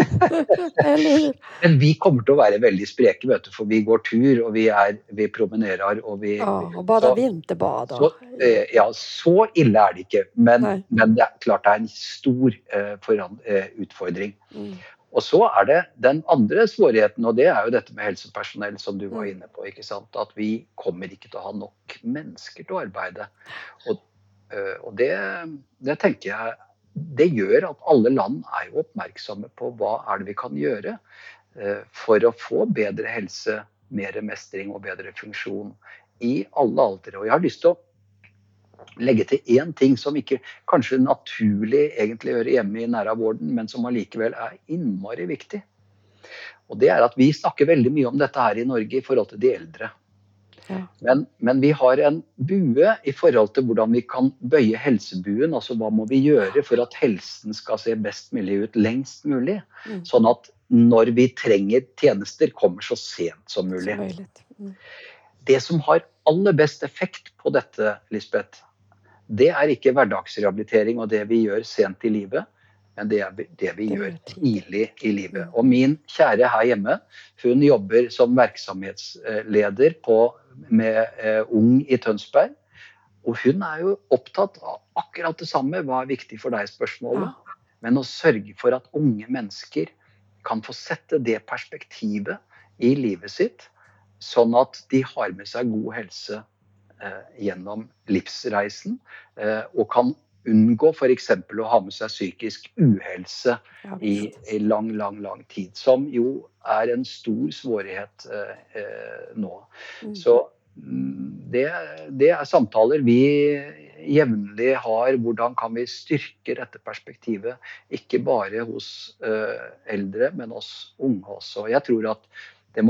Men vi kommer til å være veldig spreke, vet du, for vi går tur, og vi promenerer, og vi... Ja, og bada vinterbad. Ja, så ille er det ikke, men det er klart det er en stor utfordring. Og så er det den andre svårigheten, og det er jo dette med helsepersonell som du var inne på, ikke sant? At vi kommer ikke til å ha nok mennesker til å arbeide. Og det tenker jeg, det gjør at alle land er jo oppmerksomme på hva er det vi kan gjøre for å få bedre helse, mer mestring og bedre funksjon i alle aldre. Og jeg har lyst til å legge til en ting som ikke kanskje naturlig egentlig hører hjemme i nære vården, men som allikevel innmari viktig. Og det at vi snakker veldig mye om dette her i Norge i forhold til de eldre. Ja. Men vi har en bue i forhold til hvordan vi kan bøye helsebuen, altså hva må vi gjøre for at helsen skal se best mulig ut lengst mulig, sånn at når vi trenger tjenester kommer så sent som mulig. Som möjligt. Det som har aller best effekt på dette, Lisbeth, det ikke hverdagsrehabilitering og det vi gjør sent i livet, men det vi gjør tidlig i livet. Og min kjære her hjemme, hun jobber som virksomhetsleder med Ung i Tønsberg, og hun jo opptatt av akkurat det samme, hva viktig for deg spørsmålet, men å sørge for at unge mennesker kan få sette det perspektivet i livet sitt, sånn at de har med seg god helse gjennom livsreisen, og kan unngå for eksempel å ha med seg psykisk uhelse i lang tid, som jo en stor svårighet nå. Så det samtaler vi jevnlig har, hvordan kan vi styrke dette perspektivet, ikke bare hos eldre, men hos unge også. Jeg tror at det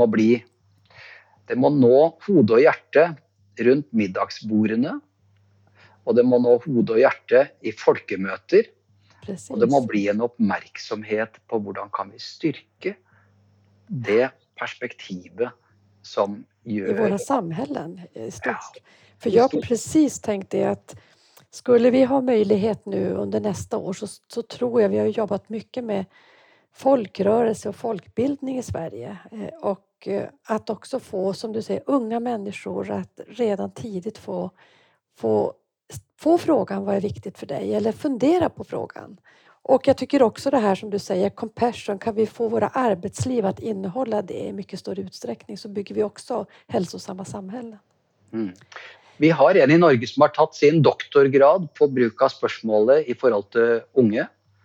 må nå hode og hjerte rundt middagsbordene, og det må nå hode og hjerte i folkemøter, og det må bli en oppmerksomhet på hvordan kan vi styrke det perspektivet som gör... I våra samhällen stort. För jag precis tänkte att skulle vi ha möjlighet nu under nästa år så tror jag vi har jobbat mycket med folkrörelse och folkbildning i Sverige. Och att också få, som du säger, unga människor att redan tidigt få frågan vad är viktigt för dig eller fundera på frågan. Och jag tycker också det här som du säger, compassion, kan vi få våra arbetsliv att innehålla det i mycket större utsträckning så bygger vi också hälsosamma samhällen. Vi har en i Norge som har tatt sin doktorgrad på bruk av spørsmålet i forhold til unge.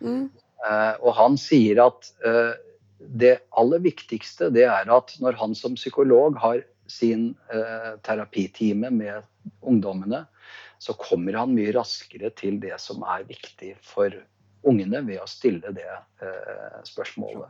Og han sier at det aller viktigste det at når han som psykolog har sin terapitime med ungdommene, så kommer han mye raskere til det som viktig for ungene ved å stille det spørsmålet.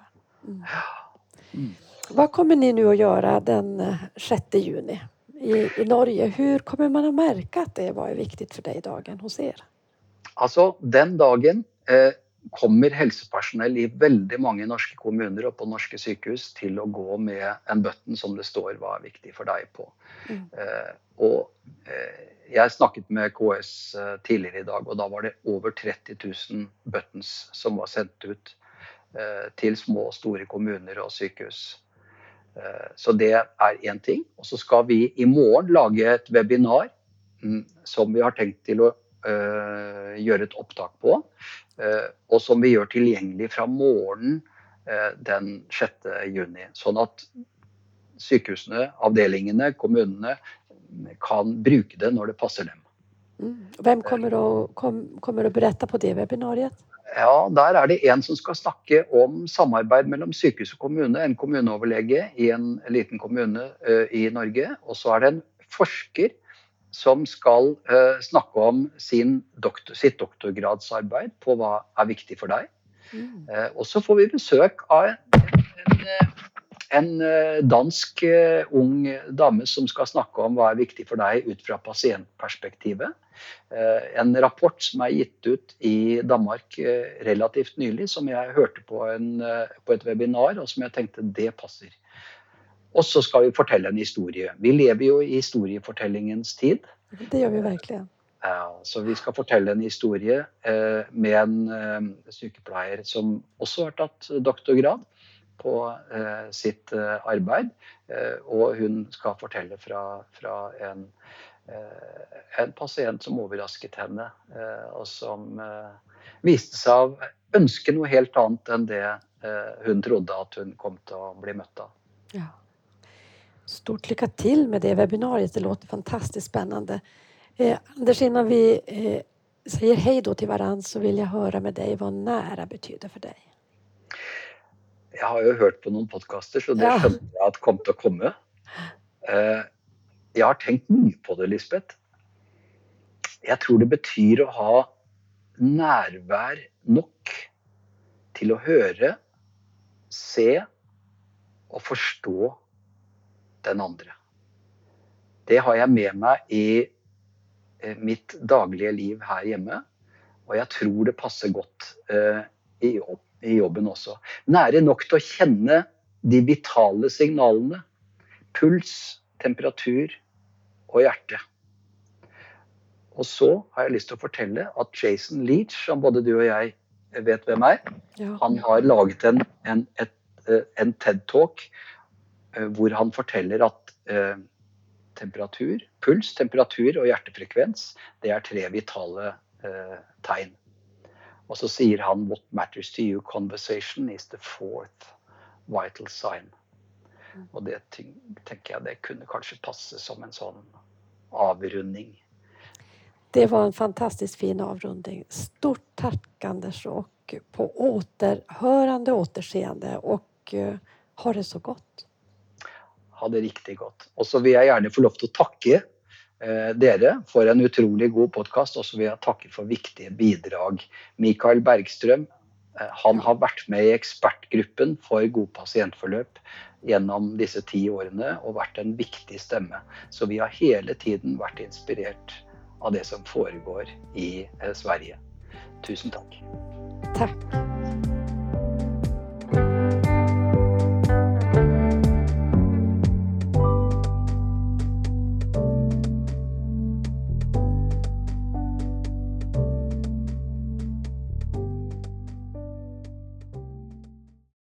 Vad kommer ni nu att göra den 6 juni i Norge? Hur kommer man att märka att det var viktigt för dig dagen hos er? Altså, den dagen kommer helsepersonell i veldig mange norske kommuner og på norske sykehus til å gå med en button som det står hva viktig for deg på. Og jeg snakket med KS tidligere i dag, og da var det over 30 000 buttons som var sendt ut til små og store kommuner og sykehus. Så det en ting. Og så skal vi i morgen lage et webinar som vi har tenkt til å gjøre et opptak på, og som vi gjør tilgjengelig fra morgen den 6. juni, sånn at sykehusene, avdelingene, kommunene kan bruke det når det passer dem. Hvem kommer å berette på det webinariet? Ja, der det en som skal snakke om samarbeid mellom sykehus og kommune, en kommuneoverlege i en liten kommune i Norge, og så det en forsker som skal snakke om sitt doktorgradsarbeid på hva viktig for deg. Og så får vi besøk av en dansk ung dame som skal snakke om hva viktig for deg ut fra pasientperspektivet. En rapport som gitt ut i Danmark relativt nylig, som jeg hørte på et webinar, og som jeg tenkte det passer. Og så skal vi fortelle en historie. Vi lever jo i historiefortellingens tid. Det gjør vi virkelig. Ja, så vi skal fortelle en historie med en sykepleier som også har tatt doktorgrad på sitt arbeid, og hun skal fortelle fra en pasient som overrasket henne, og som viste seg å ønske noe helt annet enn det hun trodde at hun kom til å bli møtt av. Ja. Stort lycka till med det webbinariet, det låter fantastiskt spännande. Anders, innan vi säger hej då till varann så vill jag höra med dig vad nära betyder för dig. Jeg har jo hørt på noen podcaster, så det skjønner jeg at kom til å komme. Jeg har tenkt mye på det, Lisbeth. Jeg tror det betyr å ha nærvær nok til å høre, se og forstå den andre. Det har jeg med meg i mitt daglige liv her hjemme, og jeg tror det passer godt i jobben også. Nære nok til å kjenne de vitale signalene, puls, temperatur og hjerte. Og så har jeg lyst til å fortelle at Jason Leach, som både du og jeg vet hvem han har laget en TED-talk hvor han forteller at temperatur, puls, temperatur og hjertefrekvens, det er 3 vitale tegn. Og så sier han, what matters to you, conversation is the 4th vital sign. Og det tenker jeg det kunne kanskje passe som en sånn avrunding. Det var en fantastiskt fin avrunding. Stort tack Anders och på återhörande, återseende och ha det så gott. Ha det riktig godt. Og så vil jeg gjerne få lov til å takke dere for en utrolig god podcast, og så vil jeg takke for viktige bidrag. Mikael Bergstrøm, han har vært med i ekspertgruppen for god pasientforløp gjennom disse 10 årene og vært en viktig stemme. Så vi har hele tiden vært inspirert av det som foregår i Sverige. Tusen takk. Tack.